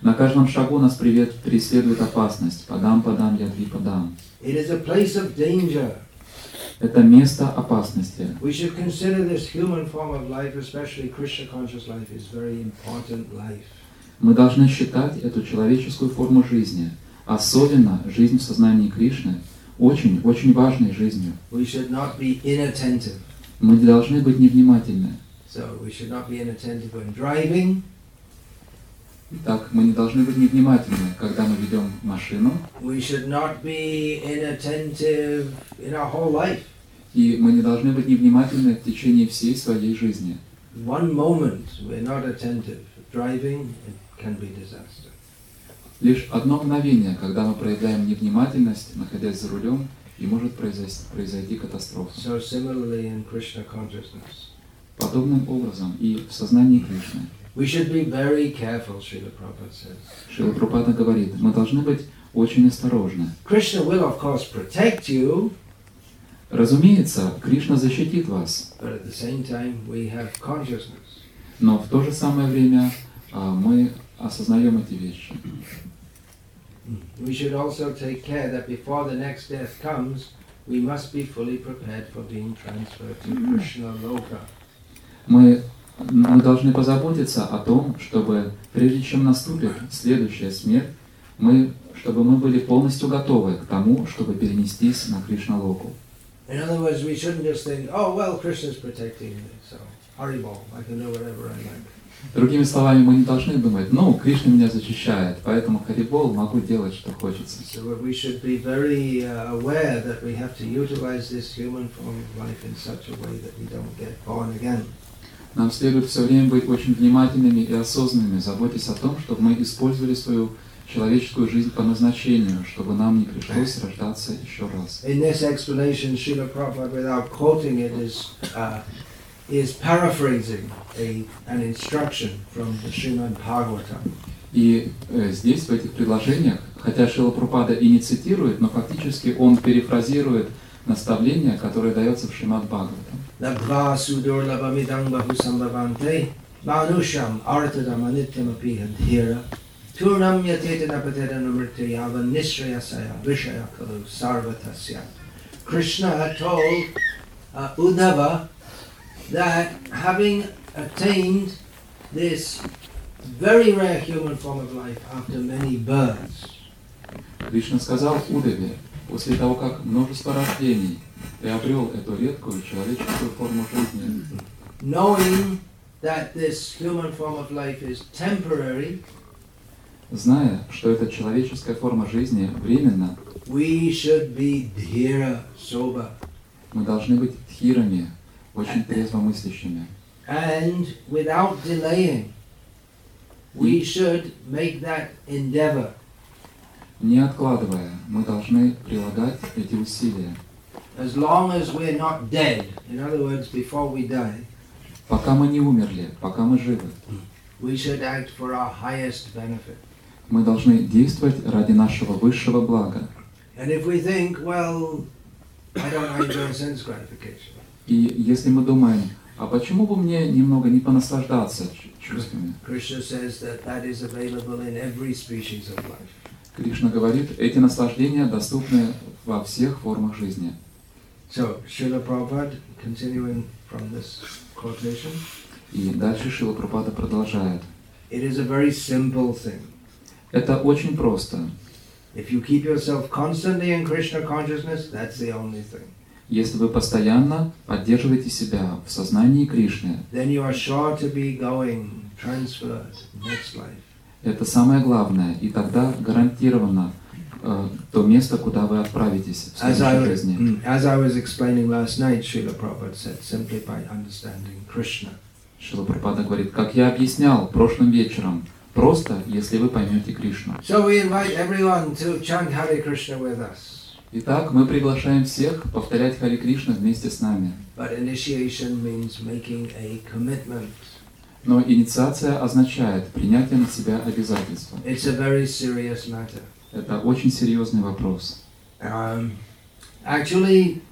[SPEAKER 1] На каждом шагу нас привет, преследует опасность. Падам, падам, ядви, падам.
[SPEAKER 3] It is a place of danger.
[SPEAKER 1] Это место опасности.
[SPEAKER 3] We should consider this human form of life, especially Krishna conscious life, is very important life.
[SPEAKER 1] Мы должны считать эту человеческую форму жизни, особенно жизнь в сознании Кришны, очень-очень важной жизнью.
[SPEAKER 3] We should not be inattentive.
[SPEAKER 1] Мы не должны быть невнимательны.
[SPEAKER 3] So we should not be inattentive when driving.
[SPEAKER 1] Так, мы не должны быть невнимательны, когда мы ведем машину,
[SPEAKER 3] We should not be inattentive in our whole life.
[SPEAKER 1] и мы не должны быть невнимательны в течение всей своей жизни.
[SPEAKER 3] One moment we're not attentive. Driving, it can be disaster.
[SPEAKER 1] Лишь одно мгновение, когда мы проявляем невнимательность, находясь за рулем, и может произойти, произойти катастрофа.
[SPEAKER 3] So similarly in Krishna consciousness.
[SPEAKER 1] Подобным образом и в сознании Кришны.
[SPEAKER 3] We should be very careful, Srila Prabhupada says.
[SPEAKER 1] Шрила Прабхупада говорит, мы должны быть очень осторожны.
[SPEAKER 3] Krishna will, of course, protect you,
[SPEAKER 1] Разумеется, Кришна защитит вас,
[SPEAKER 3] but at the same time we have consciousness.
[SPEAKER 1] но в то же самое время а, мы осознаем эти вещи.
[SPEAKER 3] We should also take care that before the next death comes, we must be fully prepared for being transferred to Krishna Loka.
[SPEAKER 1] Мы, мы должны позаботиться о том, чтобы прежде чем наступит следующая смерть, мы, чтобы мы были полностью готовы к тому, чтобы перенестись на Кришна-локу.
[SPEAKER 3] In other words, we shouldn't just think, oh, well, Krishna's protecting me, so Haribol, I can do whatever I like.
[SPEAKER 1] Другими словами, мы не должны думать, ну, Кришна меня защищает, поэтому Харибол, могу делать, что хочется.
[SPEAKER 3] So we should be very uh, aware that we have to utilize this human form of life in such a way that we don't get born again.
[SPEAKER 1] Нам следует все время быть очень внимательными и осознанными, заботясь о том, чтобы мы использовали свою человеческую жизнь по назначению, чтобы нам не пришлось рождаться еще раз.
[SPEAKER 3] In this explanation, Srila Prabhupada, without quoting it, is uh, is paraphrasing a, an instruction from the Srimad Bhagavatam.
[SPEAKER 1] И э, здесь, в этих предложениях, хотя Шрила Прабхупада и не цитирует, но фактически он перефразирует наставление, которое дается в Шримад Бхагаватам.
[SPEAKER 3] Labdva sudurlabhamidang bahusambhavante manusham artadam anityam apihadhira turnam yatetana patedanamrityava nishrayasaya vishaya kalu sarvatasya. Krishna had told uh, Uddhava that having attained this very rare human form of life after many births,
[SPEAKER 1] Кришна сказал Удаве, после того, как множество рождений приобрел эту редкую человеческую форму жизни,
[SPEAKER 3] knowing that this human form of life is temporary,
[SPEAKER 1] зная, что эта человеческая форма жизни временна,
[SPEAKER 3] we should be dhira, sober,
[SPEAKER 1] мы должны быть тхирами, очень трезвомыслящими.
[SPEAKER 3] and without delaying, we should make that endeavor.
[SPEAKER 1] Не откладывая, мы должны прилагать эти усилия.
[SPEAKER 3] As long as we're not dead, in other words, before we die,
[SPEAKER 1] Пока мы не умерли, пока мы живы,
[SPEAKER 3] we should act for our highest benefit.
[SPEAKER 1] мы должны действовать ради нашего высшего блага.
[SPEAKER 3] And if we think, well, I don't enjoy sense gratification,
[SPEAKER 1] И если мы думаем, а почему бы мне немного не понаслаждаться ч- чувствами?
[SPEAKER 3] Krishna says that that is available in every species of life.
[SPEAKER 1] Кришна говорит, эти наслаждения доступны во всех формах жизни.
[SPEAKER 3] So, Srila Prabhupada, continuing from this quotation,
[SPEAKER 1] И дальше Шрила Прабхупада продолжает.
[SPEAKER 3] it is a very simple thing.
[SPEAKER 1] Это очень просто.
[SPEAKER 3] If you keep yourself constantly in Krishna consciousness, that's the only thing.
[SPEAKER 1] Если вы постоянно поддерживаете себя в сознании Кришны,
[SPEAKER 3] Then you are sure to be going, transferred, next life.
[SPEAKER 1] это самое главное, и тогда гарантированно э, то место, куда вы отправитесь в
[SPEAKER 3] As I,
[SPEAKER 1] следующей жизни.
[SPEAKER 3] mm, as I was explaining last night, Srila Prabhupada said, simply by understanding Krishna.
[SPEAKER 1] Шрила Прабхупада говорит, как я объяснял прошлым вечером, просто если вы поймете Кришну.
[SPEAKER 3] So we invite everyone to chant Hare Krishna with us.
[SPEAKER 1] Итак, мы приглашаем всех повторять Харе Кришна вместе с нами.
[SPEAKER 3] But initiation means making a commitment.
[SPEAKER 1] Но инициация означает принятие на себя обязательства.
[SPEAKER 3] It's a very serious matter.
[SPEAKER 1] Это очень серьезный вопрос.
[SPEAKER 3] Um, actually,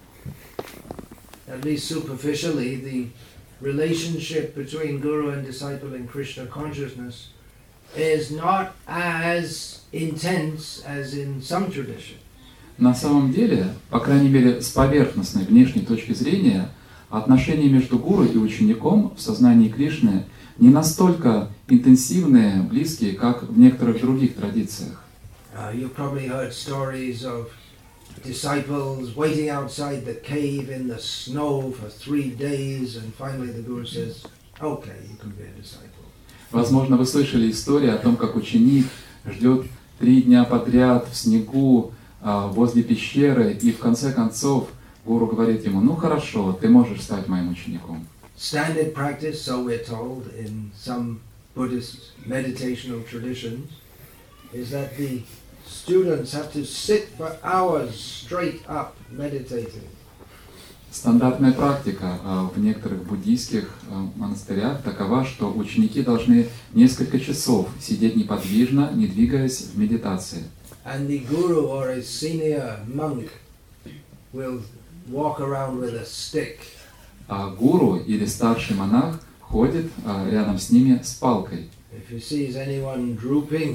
[SPEAKER 3] at least superficially, the relationship between guru and disciple in Krishna consciousness is not as intense as in some tradition.
[SPEAKER 1] На самом деле, по крайней мере, с поверхностной внешней точки зрения, отношения между гуру и учеником в сознании Кришны не настолько интенсивные, близкие, как в некоторых других традициях.
[SPEAKER 3] Uh, you've probably heard stories of disciples waiting outside the cave in the snow for three days, and finally the Guru says, "Okay, you can be a disciple."
[SPEAKER 1] Возможно, вы слышали историю о том, как ученик ждет три дня подряд в снегу а, возле пещеры, и в конце концов гуру говорит ему: ну хорошо, ты можешь стать моим учеником.
[SPEAKER 3] Standard practice, so we're told in some Buddhist meditational traditions, is that the students have to sit for hours straight up meditating.
[SPEAKER 1] Стандартная практика а, в некоторых буддийских а, монастырях такова, что ученики должны несколько часов сидеть неподвижно, не двигаясь в медитации.
[SPEAKER 3] And the guru or a senior monk will walk around with a stick.
[SPEAKER 1] А гуру или старший монах ходит а, рядом с ними с палкой.
[SPEAKER 3] If he sees anyone drooping,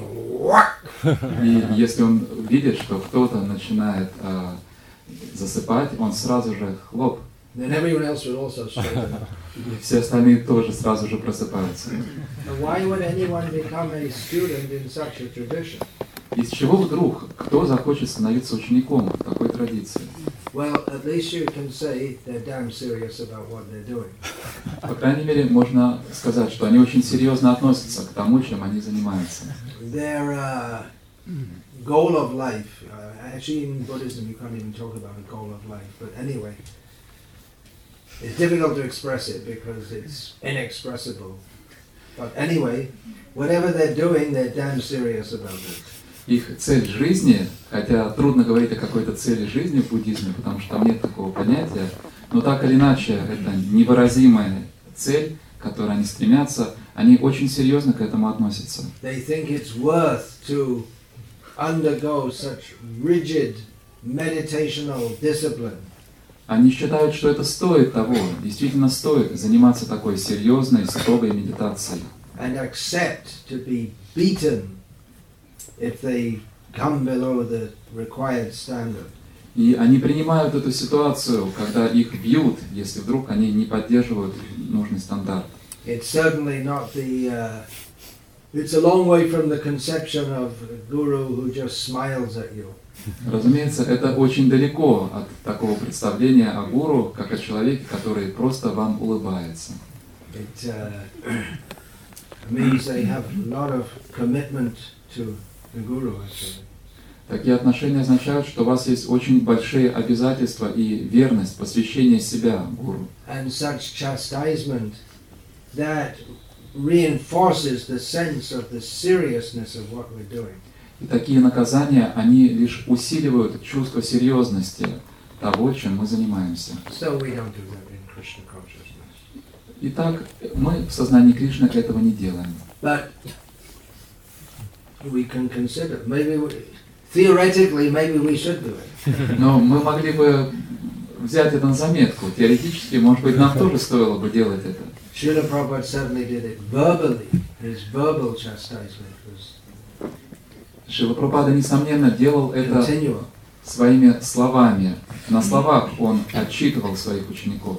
[SPEAKER 1] И если он видит, что кто-то начинает а, засыпать, он сразу же хлоп.
[SPEAKER 3] then everyone else will also straighten up.
[SPEAKER 1] И все остальные тоже сразу же просыпаются.
[SPEAKER 3] And why would anyone become a student in such a tradition?
[SPEAKER 1] Из чего вдруг кто захочет становиться учеником в такой традиции?
[SPEAKER 3] Well, at least you can say they're damn serious about what they're doing.
[SPEAKER 1] По крайней мере, можно сказать, что они очень серьезно относятся к тому, чем они занимаются.
[SPEAKER 3] Their uh, goal of life, uh, actually in Buddhism you can't even talk about a goal of life, but anyway, it's difficult to express it because it's inexpressible. But anyway, whatever they're doing, they're damn serious about it.
[SPEAKER 1] Их цель жизни, хотя трудно говорить о какой-то цели жизни в буддизме, потому что там нет такого понятия, но так или иначе это невыразимая цель, к которой они стремятся, они очень серьезно к этому относятся.
[SPEAKER 3] They think it's worth to undergo such rigid meditational discipline.
[SPEAKER 1] Они считают, что это стоит того, действительно стоит заниматься такой серьезной, строгой медитацией.
[SPEAKER 3] And accept to be beaten if they come below the required standard.
[SPEAKER 1] И они принимают эту ситуацию, когда их бьют, если вдруг они не поддерживают нужный стандарт.
[SPEAKER 3] It's certainly not the. Uh, it's a long way from the conception of a guru who just smiles at you.
[SPEAKER 1] Разумеется, это очень далеко от такого представления о гуру, как о человеке, который просто вам улыбается.
[SPEAKER 3] It uh, means they have a lot of commitment to the guru, actually.
[SPEAKER 1] Такие отношения означают, что у вас есть очень большие обязательства и верность, посвящение себя гуру.
[SPEAKER 3] And such chastisement that reinforces the sense of the seriousness of what we're doing.
[SPEAKER 1] И такие наказания, они лишь усиливают чувство серьезности того, чем мы занимаемся.
[SPEAKER 3] So we don't do that in Krishna consciousness.
[SPEAKER 1] Итак, мы в сознании Кришны этого не делаем.
[SPEAKER 3] But we can consider, maybe we, theoretically, maybe we should do it.
[SPEAKER 1] Но мы могли бы взять это на заметку. Теоретически, может быть, нам тоже стоило бы делать это.
[SPEAKER 3] Srila Prabhupada certainly did it verbally. His verbal chastisement was
[SPEAKER 1] Шрила Прабхупада, несомненно, делал это
[SPEAKER 3] continual.
[SPEAKER 1] своими словами. На словах он отчитывал своих учеников.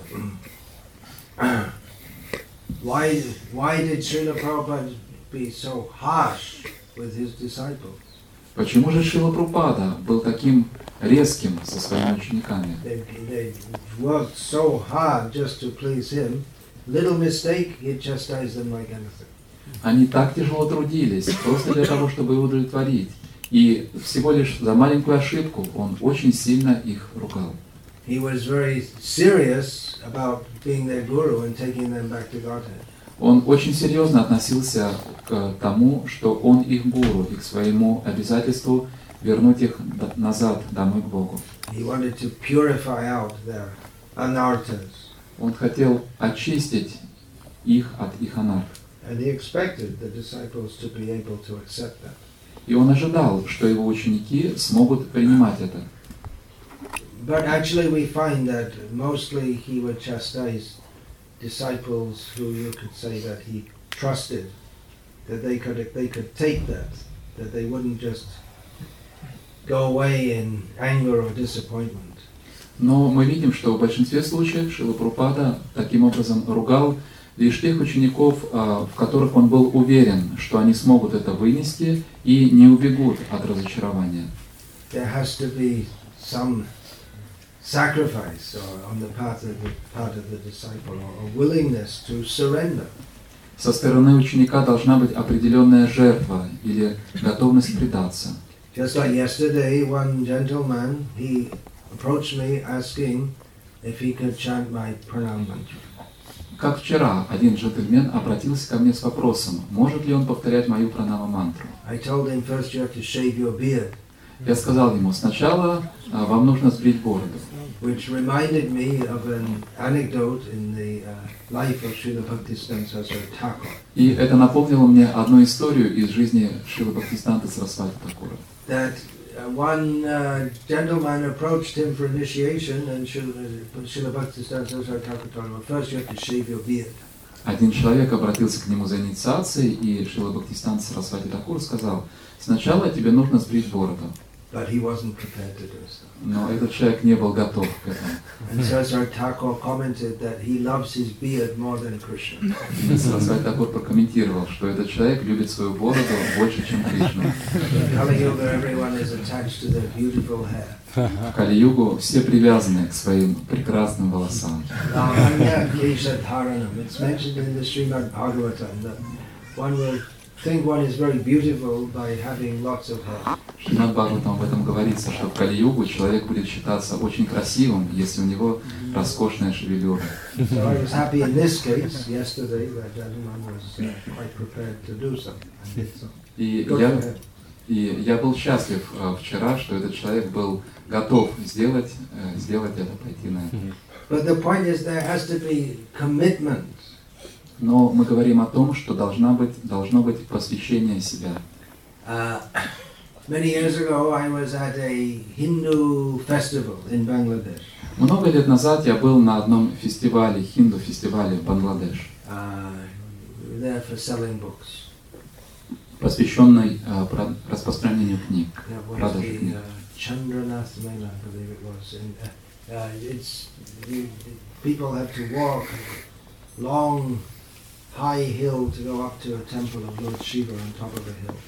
[SPEAKER 3] Why, why did Srila Prabhupada be so harsh with his disciples?
[SPEAKER 1] Почему же Шрила Прабхупада был таким резким со своими учениками?
[SPEAKER 3] They, they worked so hard just to please him. Little mistake, he chastised them like anything.
[SPEAKER 1] Они так тяжело трудились, просто для того, чтобы его удовлетворить. И всего лишь за маленькую ошибку он очень сильно их ругал.
[SPEAKER 3] He was very serious about being their guru and taking them back to Godhead.
[SPEAKER 1] Он очень серьезно относился к тому, что он их гуру, и к своему обязательству вернуть их назад домой к Богу.
[SPEAKER 3] He wanted to purify out their anarthas.
[SPEAKER 1] Он хотел очистить их от их анарх.
[SPEAKER 3] And he expected the disciples to be able to accept that.
[SPEAKER 1] И он ожидал, что его ученики смогут принимать это.
[SPEAKER 3] But actually we find that mostly he would chastise disciples who you could say that he trusted that they could they could take that, that they wouldn't just go away in anger or disappointment.
[SPEAKER 1] Но мы видим, что в большинстве случаев Шрила Прабхупада таким образом ругал лишь тех учеников, в которых он был уверен, что они смогут это вынести и не убегут от разочарования.
[SPEAKER 3] There has to be some sacrifice or on the part of the part of the disciple or a willingness to surrender.
[SPEAKER 1] Со стороны ученика должна быть определенная жертва или готовность предаться.
[SPEAKER 3] Just like yesterday, one gentleman, he approached me asking if he could chant my pranam mantra.
[SPEAKER 1] Как вчера один джентльмен обратился ко мне с вопросом, может ли он повторять мою пранама-мантру.
[SPEAKER 3] I told him first you have to shave your beard.
[SPEAKER 1] Я сказал ему, сначала а, вам нужно сбрить бороду.
[SPEAKER 3] Which reminded me of an anecdote in the uh, life of Srila Bhaktisiddhanta Saraswati Thakur.
[SPEAKER 1] И это напомнило мне одну историю из жизни Шрилы Бхактисиданты Сарасвати Thakura.
[SPEAKER 3] That uh, one uh, gentleman approached him for initiation, and Srila, Srila Bhaktisiddhanta Saraswati Thakur told him, well, first you have to shave your beard.
[SPEAKER 1] Один человек обратился к нему за инициацией, и Шрила Бхактисиданта Сарасвати Thakura сказал, сначала тебе нужно сбрить бороду.
[SPEAKER 3] But he wasn't prepared to do so.
[SPEAKER 1] Но этот человек не был готов к этому.
[SPEAKER 3] And Saraswati Thakur commented that he loves his beard more than Krishna.
[SPEAKER 1] И Сарасвати Thakura прокомментировал, что этот человек любит свою бороду больше, чем Кришну.
[SPEAKER 3] In Kali Yuga, everyone is attached to their beautiful hair.
[SPEAKER 1] В Кали-югу все привязаны к своим прекрасным волосам.
[SPEAKER 3] Lavanya Kesha Dharanam. It's mentioned in the Srimad Bhagavatam that one will think one is very beautiful by having lots of hair.
[SPEAKER 1] В Шримад Бхагаватам об этом говорится, что в Кали-югу человек будет считаться очень красивым, если у него роскошная шевелюра.
[SPEAKER 3] So I was happy in this case. Yesterday, that gentleman was uh, quite prepared to do so and did so.
[SPEAKER 1] И
[SPEAKER 3] Go
[SPEAKER 1] я,
[SPEAKER 3] ahead.
[SPEAKER 1] и я был счастлив э, вчера, что этот человек был готов сделать, э, сделать это, пойти на это.
[SPEAKER 3] But the point is, there has to be commitment.
[SPEAKER 1] Но мы говорим о том, что должна быть, должно быть посвящение себя.
[SPEAKER 3] Uh, many years ago, I was at a Hindu festival in Bangladesh.
[SPEAKER 1] Много лет назад я был на одном фестивале, хинду-фестивале в Бангладеш,
[SPEAKER 3] Uh, we were there for selling books.
[SPEAKER 1] посвященный э, про- распространению книг,
[SPEAKER 3] That was
[SPEAKER 1] продаже
[SPEAKER 3] the
[SPEAKER 1] книг.
[SPEAKER 3] uh, Chandranath Mela, I believe it was. And, uh, uh, it's you, people have to walk long, high hill to go up to a temple of Lord Shiva on top of a hill.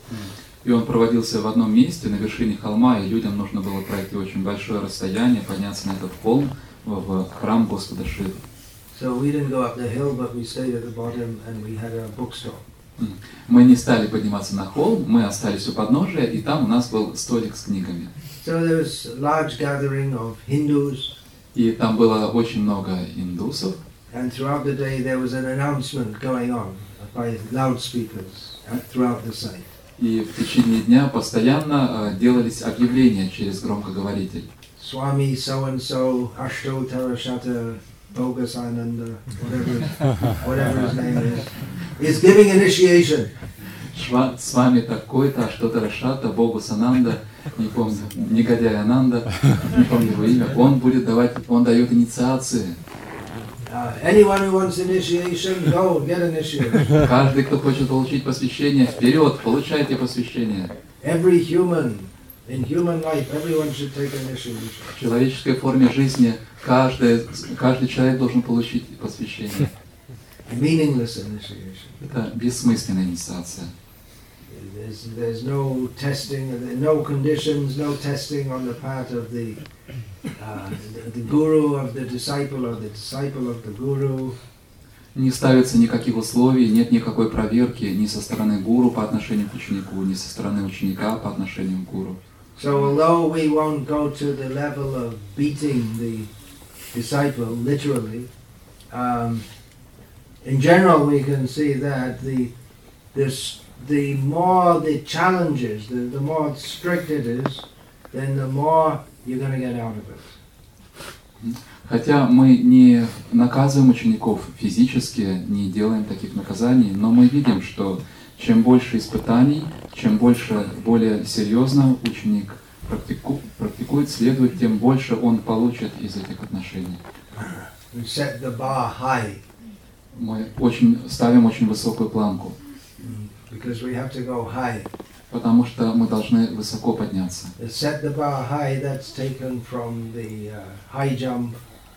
[SPEAKER 1] И он проводился в одном месте, на вершине холма, и людям нужно было пройти очень большое расстояние, подняться на этот холм в, в храм Господа Шивы.
[SPEAKER 3] So we didn't go up the hill, but we stayed at the bottom, and we had a bookstore.
[SPEAKER 1] Мы не стали подниматься на холм, мы остались у подножия, и там у нас был столик с книгами.
[SPEAKER 3] So there was a large gathering of Hindus,
[SPEAKER 1] И там было очень много индусов,
[SPEAKER 3] and throughout the day there was an announcement going on by loudspeakers uh, throughout the site.
[SPEAKER 1] и в течение дня постоянно э, делались объявления через громкоговоритель.
[SPEAKER 3] Swami so and so, Ashto Tarashata Bogasananda, whatever, whatever his name is, is giving initiation.
[SPEAKER 1] Шва, с вами такой-то, что-то Рашата, Богу Сананда, не помню, негодяй Ананда, не помню его имя, он будет давать, он дает инициации.
[SPEAKER 3] Uh, anyone who wants initiation, go get initiation.
[SPEAKER 1] Каждый, кто хочет получить посвящение, вперед, получайте посвящение.
[SPEAKER 3] Every human, in human life, everyone should take initiation.
[SPEAKER 1] В человеческой форме жизни каждый, каждый человек должен получить посвящение.
[SPEAKER 3] Meaningless initiation.
[SPEAKER 1] Это бессмысленная инициация.
[SPEAKER 3] There's, there's no testing, no conditions, no testing on the part of the, uh, the, the guru of the disciple or the disciple of the guru.
[SPEAKER 1] Не ставится никаких условий, нет никакой проверки ни со стороны гуру по отношению к ученику, ни со стороны ученика по отношению к гуру.
[SPEAKER 3] So although we won't go to the level of beating the disciple literally, um, in general we can see that the this the more the challenges, the, the more strict it is, then the more you're going to get out of it.
[SPEAKER 1] Хотя мы не наказываем учеников физически, не делаем таких наказаний, но мы видим, что чем больше испытаний, чем больше, более серьезно ученик практику, практикует, следует, тем больше он получит из этих отношений.
[SPEAKER 3] We set the bar high.
[SPEAKER 1] Мы очень, ставим очень высокую планку.
[SPEAKER 3] because we have to go high.
[SPEAKER 1] Потому что мы должны высоко подняться.
[SPEAKER 3] To set the bar high, that's taken from the uh, high jump.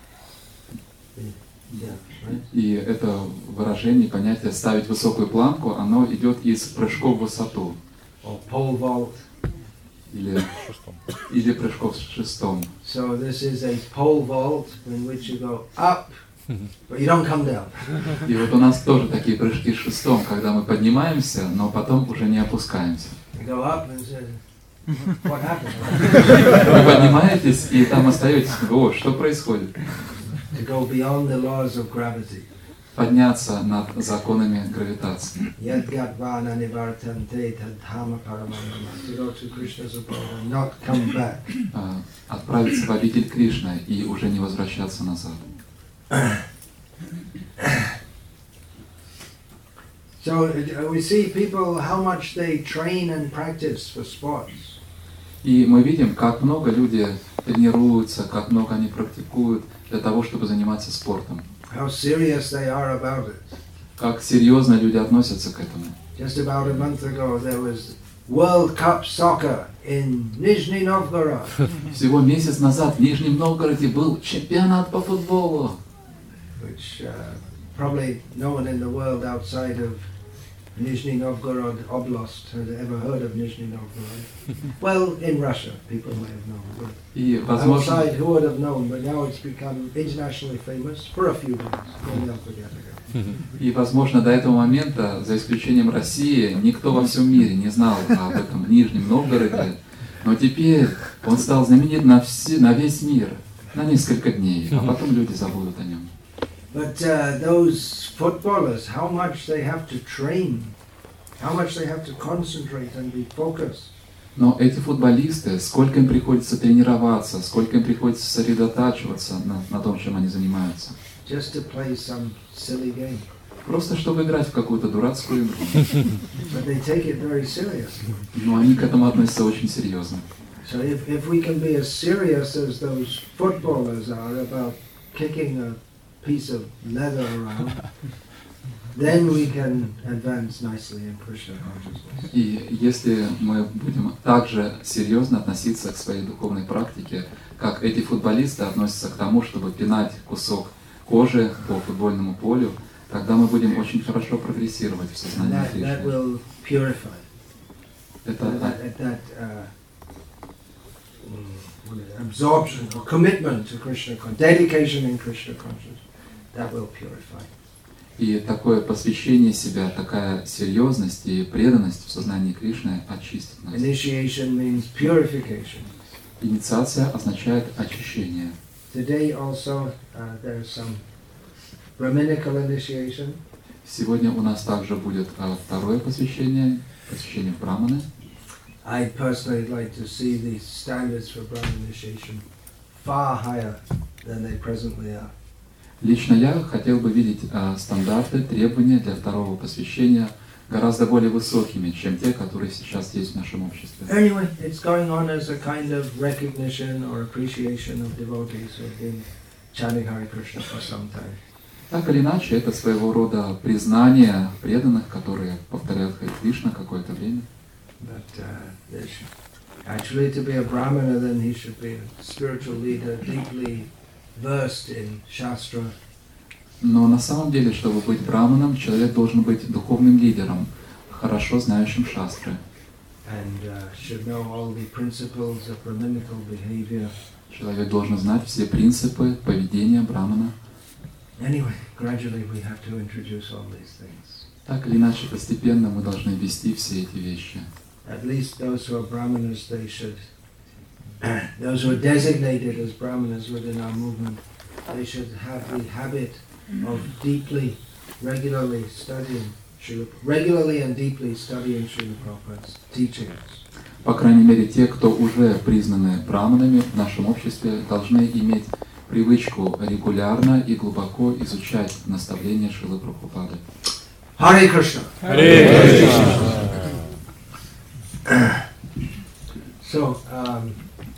[SPEAKER 3] Yeah, right?
[SPEAKER 1] И это выражение, понятие «ставить высокую планку», оно идет из прыжков в высоту.
[SPEAKER 3] Or pole vault.
[SPEAKER 1] Или, или прыжков с шестом.
[SPEAKER 3] So this is a pole vault in which you go up, but you don't come down.
[SPEAKER 1] И вот у нас тоже такие прыжки с шестом, когда мы поднимаемся, но потом уже не опускаемся.
[SPEAKER 3] You go up and say, what happened?
[SPEAKER 1] Вы поднимаетесь и там остаетесь. О, что происходит?
[SPEAKER 3] To go beyond the laws of gravity.
[SPEAKER 1] Подняться над законами гравитации.
[SPEAKER 3] Yadgatvana nivartante tadhama paramanama. To go to Krishna's abode and not come back.
[SPEAKER 1] А, Отправиться в обитель Кришны и уже не возвращаться назад.
[SPEAKER 3] So uh, we see people how much they train and practice for sports.
[SPEAKER 1] И мы видим, как много люди тренируются, как много они практикуют для того, чтобы заниматься спортом.
[SPEAKER 3] How serious they are about it.
[SPEAKER 1] Как серьезно люди относятся к этому.
[SPEAKER 3] Just about a month ago there was World Cup soccer in Nizhny Novgorod.
[SPEAKER 1] Всего месяц назад в Нижнем Новгороде был чемпионат по футболу.
[SPEAKER 3] Which uh, probably no one in the world outside of Nizhny Novgorod Oblast has ever heard of Nizhny Novgorod. Well, in Russia, people may have known. But
[SPEAKER 1] И, возможно,
[SPEAKER 3] outside, who would have known? But now it's become internationally famous for a few days. Maybe I'll forget again.
[SPEAKER 1] и, возможно, до этого момента, за исключением России, никто во всем мире не знал об этом Нижнем Новгороде. Но теперь он стал знаменит на, все, на весь мир, на несколько дней, а потом люди забудут о нем.
[SPEAKER 3] But uh, those footballers, how much they have to train, how much they have to concentrate and be focused.
[SPEAKER 1] Но эти футболисты, сколько им приходится тренироваться, сколько им приходится сосредотачиваться на, на том, чем они занимаются.
[SPEAKER 3] Just to play some silly game.
[SPEAKER 1] Просто чтобы играть в какую-то дурацкую игру.
[SPEAKER 3] But they take it very seriously.
[SPEAKER 1] Но они к этому относятся очень серьезно.
[SPEAKER 3] So if, if we can be as serious as those footballers are about kicking a piece of leather around, then we can advance nicely in Krishna consciousness.
[SPEAKER 1] И если мы будем также серьезно относиться к своей духовной практике, как эти футболисты относятся к тому, чтобы пинать кусок кожи по футбольному полю, тогда мы будем очень хорошо прогрессировать в
[SPEAKER 3] And
[SPEAKER 1] сознании
[SPEAKER 3] that, that
[SPEAKER 1] Кришны.
[SPEAKER 3] will purify.
[SPEAKER 1] Это
[SPEAKER 3] That, that, that uh, mm, what is it? Absorption or commitment to Krishna, con- dedication in Krishna consciousness, that will purify.
[SPEAKER 1] И такое посвящение себя, такая серьезность и преданность в сознании Кришны очистит нас.
[SPEAKER 3] Initiation means purification.
[SPEAKER 1] Инициация означает очищение.
[SPEAKER 3] Today also uh, there is some Brahminical initiation.
[SPEAKER 1] Сегодня у нас также будет а, второе посвящение, посвящение в Браманы.
[SPEAKER 3] I personally like to see the standards for Brahman initiation far higher than they presently are.
[SPEAKER 1] Лично я хотел бы видеть а, стандарты, требования для второго посвящения гораздо более высокими, чем те, которые сейчас есть в нашем обществе.
[SPEAKER 3] Anyway, it's going on as a kind of recognition or appreciation of devotees who have been chanting Hare Krishna for some time.
[SPEAKER 1] Так или иначе, это своего рода признание преданных, которые повторяют Харе Кришна какое-то время.
[SPEAKER 3] But uh, there should, actually to be a Brahmana, then he should be a spiritual leader, deeply versed in Shastra.
[SPEAKER 1] Но на самом деле, чтобы быть браманом, человек должен быть духовным лидером, хорошо знающим шастры.
[SPEAKER 3] And uh, should know all the principles of Brahminical behavior.
[SPEAKER 1] Человек должен знать все принципы поведения брамана.
[SPEAKER 3] Anyway, gradually we have to introduce all these things.
[SPEAKER 1] Так или иначе, постепенно мы должны ввести все эти вещи.
[SPEAKER 3] At least those who are Brahmanas, they should, those who are designated as Brahmanas within our movement, they should have the habit of deeply, regularly studying, Srila, regularly and deeply studying Srila Prabhupada's teachings.
[SPEAKER 1] По крайней мере, те, кто уже признаны браманами в нашем обществе, должны иметь привычку регулярно и глубоко изучать наставления Шрилы Прабхупады.
[SPEAKER 3] Hare Krishna.
[SPEAKER 2] Hare Krishna.
[SPEAKER 3] So, um,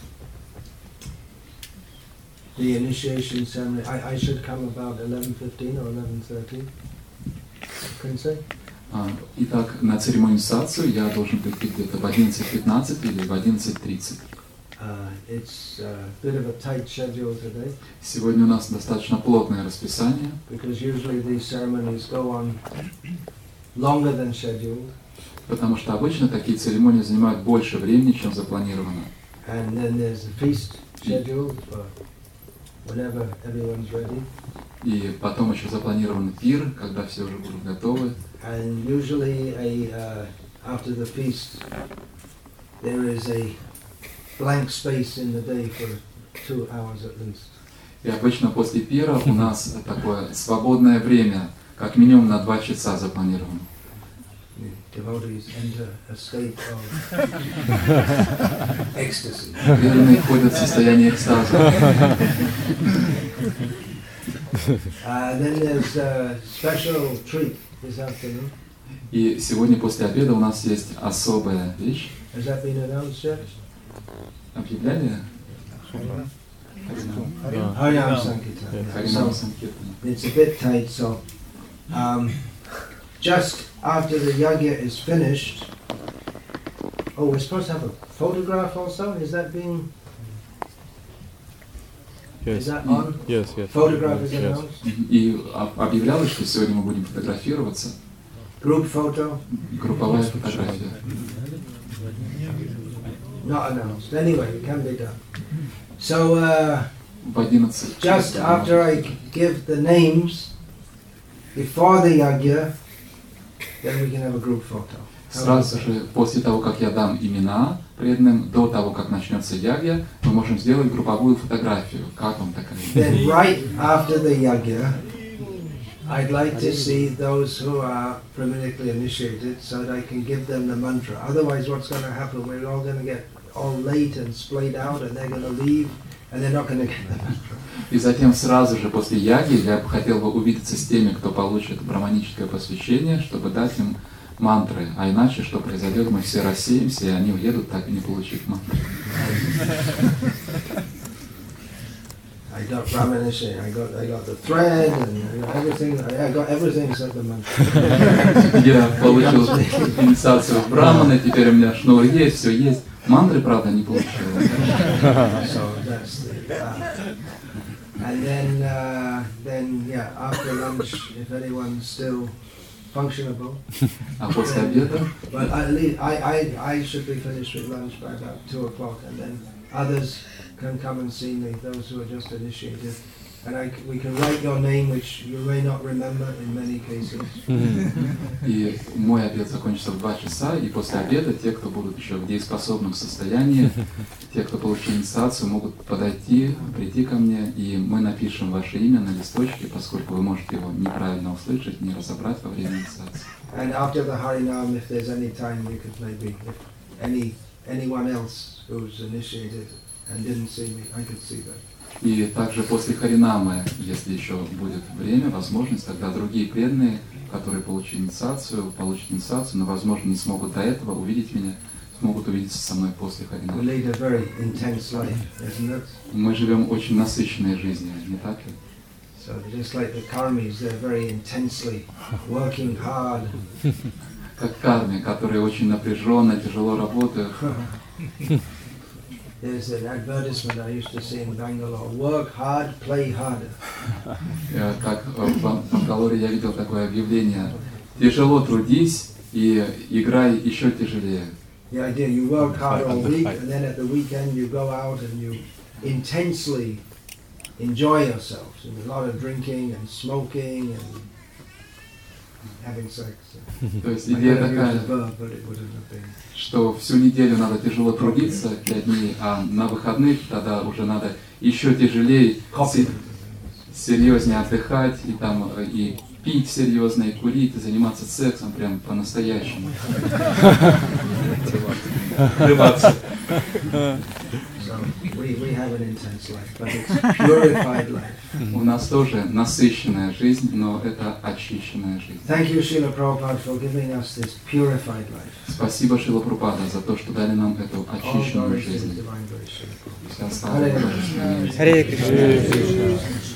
[SPEAKER 3] the initiation ceremony, I, I should come about eleven fifteen or eleven thirty. Couldn't say.
[SPEAKER 1] Итак, на церемонию инициации я должен прийти где-то в одиннадцать пятнадцать или в одиннадцать тридцать.
[SPEAKER 3] Uh, it's a bit of a tight schedule today.
[SPEAKER 1] Сегодня у нас достаточно плотное расписание.
[SPEAKER 3] Because usually these ceremonies go on longer than scheduled.
[SPEAKER 1] Потому что обычно такие церемонии занимают больше времени, чем запланировано.
[SPEAKER 3] And then there's a feast schedule for whenever everyone's ready.
[SPEAKER 1] И потом еще запланирован пир, когда все уже будут готовы.
[SPEAKER 3] And usually a, uh, after the feast there is a blank space in the day for two hours at least.
[SPEAKER 1] И обычно после пира у нас такое свободное время, как минимум на два часа запланировано.
[SPEAKER 3] Devotees enter a state of ecstasy.
[SPEAKER 1] Преданные входят в состояние экстаза.
[SPEAKER 3] Uh, then there's a special treat this afternoon.
[SPEAKER 1] И сегодня после обеда у нас есть особая вещь.
[SPEAKER 3] Has that been announced yet?
[SPEAKER 1] Объявляли?
[SPEAKER 3] Harinam Sankirtan.
[SPEAKER 1] Харинам
[SPEAKER 3] So
[SPEAKER 1] Санкиртана.
[SPEAKER 3] it's a bit tight, so um, just after the yagya is finished, oh, we're supposed to have a photograph also? Is that being,
[SPEAKER 2] Yes.
[SPEAKER 3] is that on?
[SPEAKER 2] Yes, yes.
[SPEAKER 3] Photograph is
[SPEAKER 2] Yes.
[SPEAKER 3] announced?
[SPEAKER 1] И об- объявлялось, что сегодня мы будем фотографироваться.
[SPEAKER 3] Group photo?
[SPEAKER 1] Групповая фотография.
[SPEAKER 3] Not announced. Anyway, it can be done. So uh,
[SPEAKER 1] В одиннадцать.
[SPEAKER 3] just after I give the names, before the yagya, then we can have a group photo.
[SPEAKER 1] Сразу же после того, как я дам имена преданным, до того, как начнется ягья, мы можем сделать групповую фотографию. Как вам такая
[SPEAKER 3] Then
[SPEAKER 1] идея?
[SPEAKER 3] right after the yagya, I'd like to see those who are Brahmanically initiated so that I can give them the mantra. Otherwise what's going to happen, we're all going to get all late and splayed out and they're going to leave and they're not going to get the mantra.
[SPEAKER 1] И затем сразу же после яги я бы хотел бы увидеться с теми, кто получит браманическое посвящение, чтобы дать им мантры. А иначе, что произойдет, мы все рассеемся, и они уедут, так и не получив мантры.
[SPEAKER 3] I got Brahman initiation, I got, I got the thread and I got everything, I got everything except the mantra.
[SPEAKER 1] Я получил инициацию в браманы, теперь у меня шнур есть, все есть. Мантры, правда, не получил.
[SPEAKER 3] So that's the, uh, and then, uh, then yeah, after lunch, if anyone's still functionable,
[SPEAKER 1] А после обеда,
[SPEAKER 3] but at least I, I, I should be finished with lunch by about two o'clock, and then others can come and see me, those who are just initiated. And I, c- we can write your name, which you may not remember in many cases.
[SPEAKER 1] и мой обед закончится в два часа, и после обеда те, кто будут еще в дееспособном состоянии, те, кто получил инициацию, могут подойти, прийти ко мне, и мы напишем ваше имя на листочке, поскольку вы можете его неправильно услышать, не разобрать во время инициации.
[SPEAKER 3] And after the Harinam, if there's any time, you could maybe, if any anyone else who's initiated and didn't see me, I could see them.
[SPEAKER 1] И также после Харинамы, если еще будет время, возможность, тогда другие преданные, которые получили инициацию, получат инициацию, но, возможно, не смогут до этого увидеть меня, смогут увидеться со мной после
[SPEAKER 3] We
[SPEAKER 1] Харинамы.
[SPEAKER 3] lead a very intense life, isn't it?
[SPEAKER 1] Мы живем очень насыщенной жизнью, не так ли?
[SPEAKER 3] So just like the karmis, they're very intensely working hard.
[SPEAKER 1] Как карми, которые очень напряженно, тяжело работают.
[SPEAKER 3] There's an advertisement I used to see in Bangalore: work hard, play harder.
[SPEAKER 1] Э, Как в Бан- в Бангалоре я видел такое объявление: тяжело трудись и играй еще тяжелее.
[SPEAKER 3] The idea, you work hard all week, and then at the weekend you go out and you intensely enjoy yourselves. And a lot of drinking and smoking and having sex.
[SPEAKER 1] То есть
[SPEAKER 3] I
[SPEAKER 1] идея
[SPEAKER 3] could have used
[SPEAKER 1] такая,
[SPEAKER 3] a verb, but it wouldn't have been.
[SPEAKER 1] что всю неделю надо тяжело трудиться, пять дней, а на выходных тогда уже надо еще тяжелее, се- серьезнее отдыхать, и там э, и пить серьезно, и курить, и заниматься сексом прям по-настоящему. Рыбаться.
[SPEAKER 3] So we, we have an intense life, but it's purified life.
[SPEAKER 1] У нас тоже насыщенная жизнь, но это очищенная жизнь.
[SPEAKER 3] Thank you, Srila Prabhupada, for giving us this purified life.
[SPEAKER 1] Спасибо, Шрила Прабхупада, за то, что дали нам эту
[SPEAKER 3] All
[SPEAKER 1] очищенную
[SPEAKER 3] glory to the
[SPEAKER 1] жизнь.
[SPEAKER 3] divine grace, Srila Prabhupada.
[SPEAKER 1] Вся слава
[SPEAKER 3] Hare
[SPEAKER 1] Божественной.
[SPEAKER 2] Харе Кришна.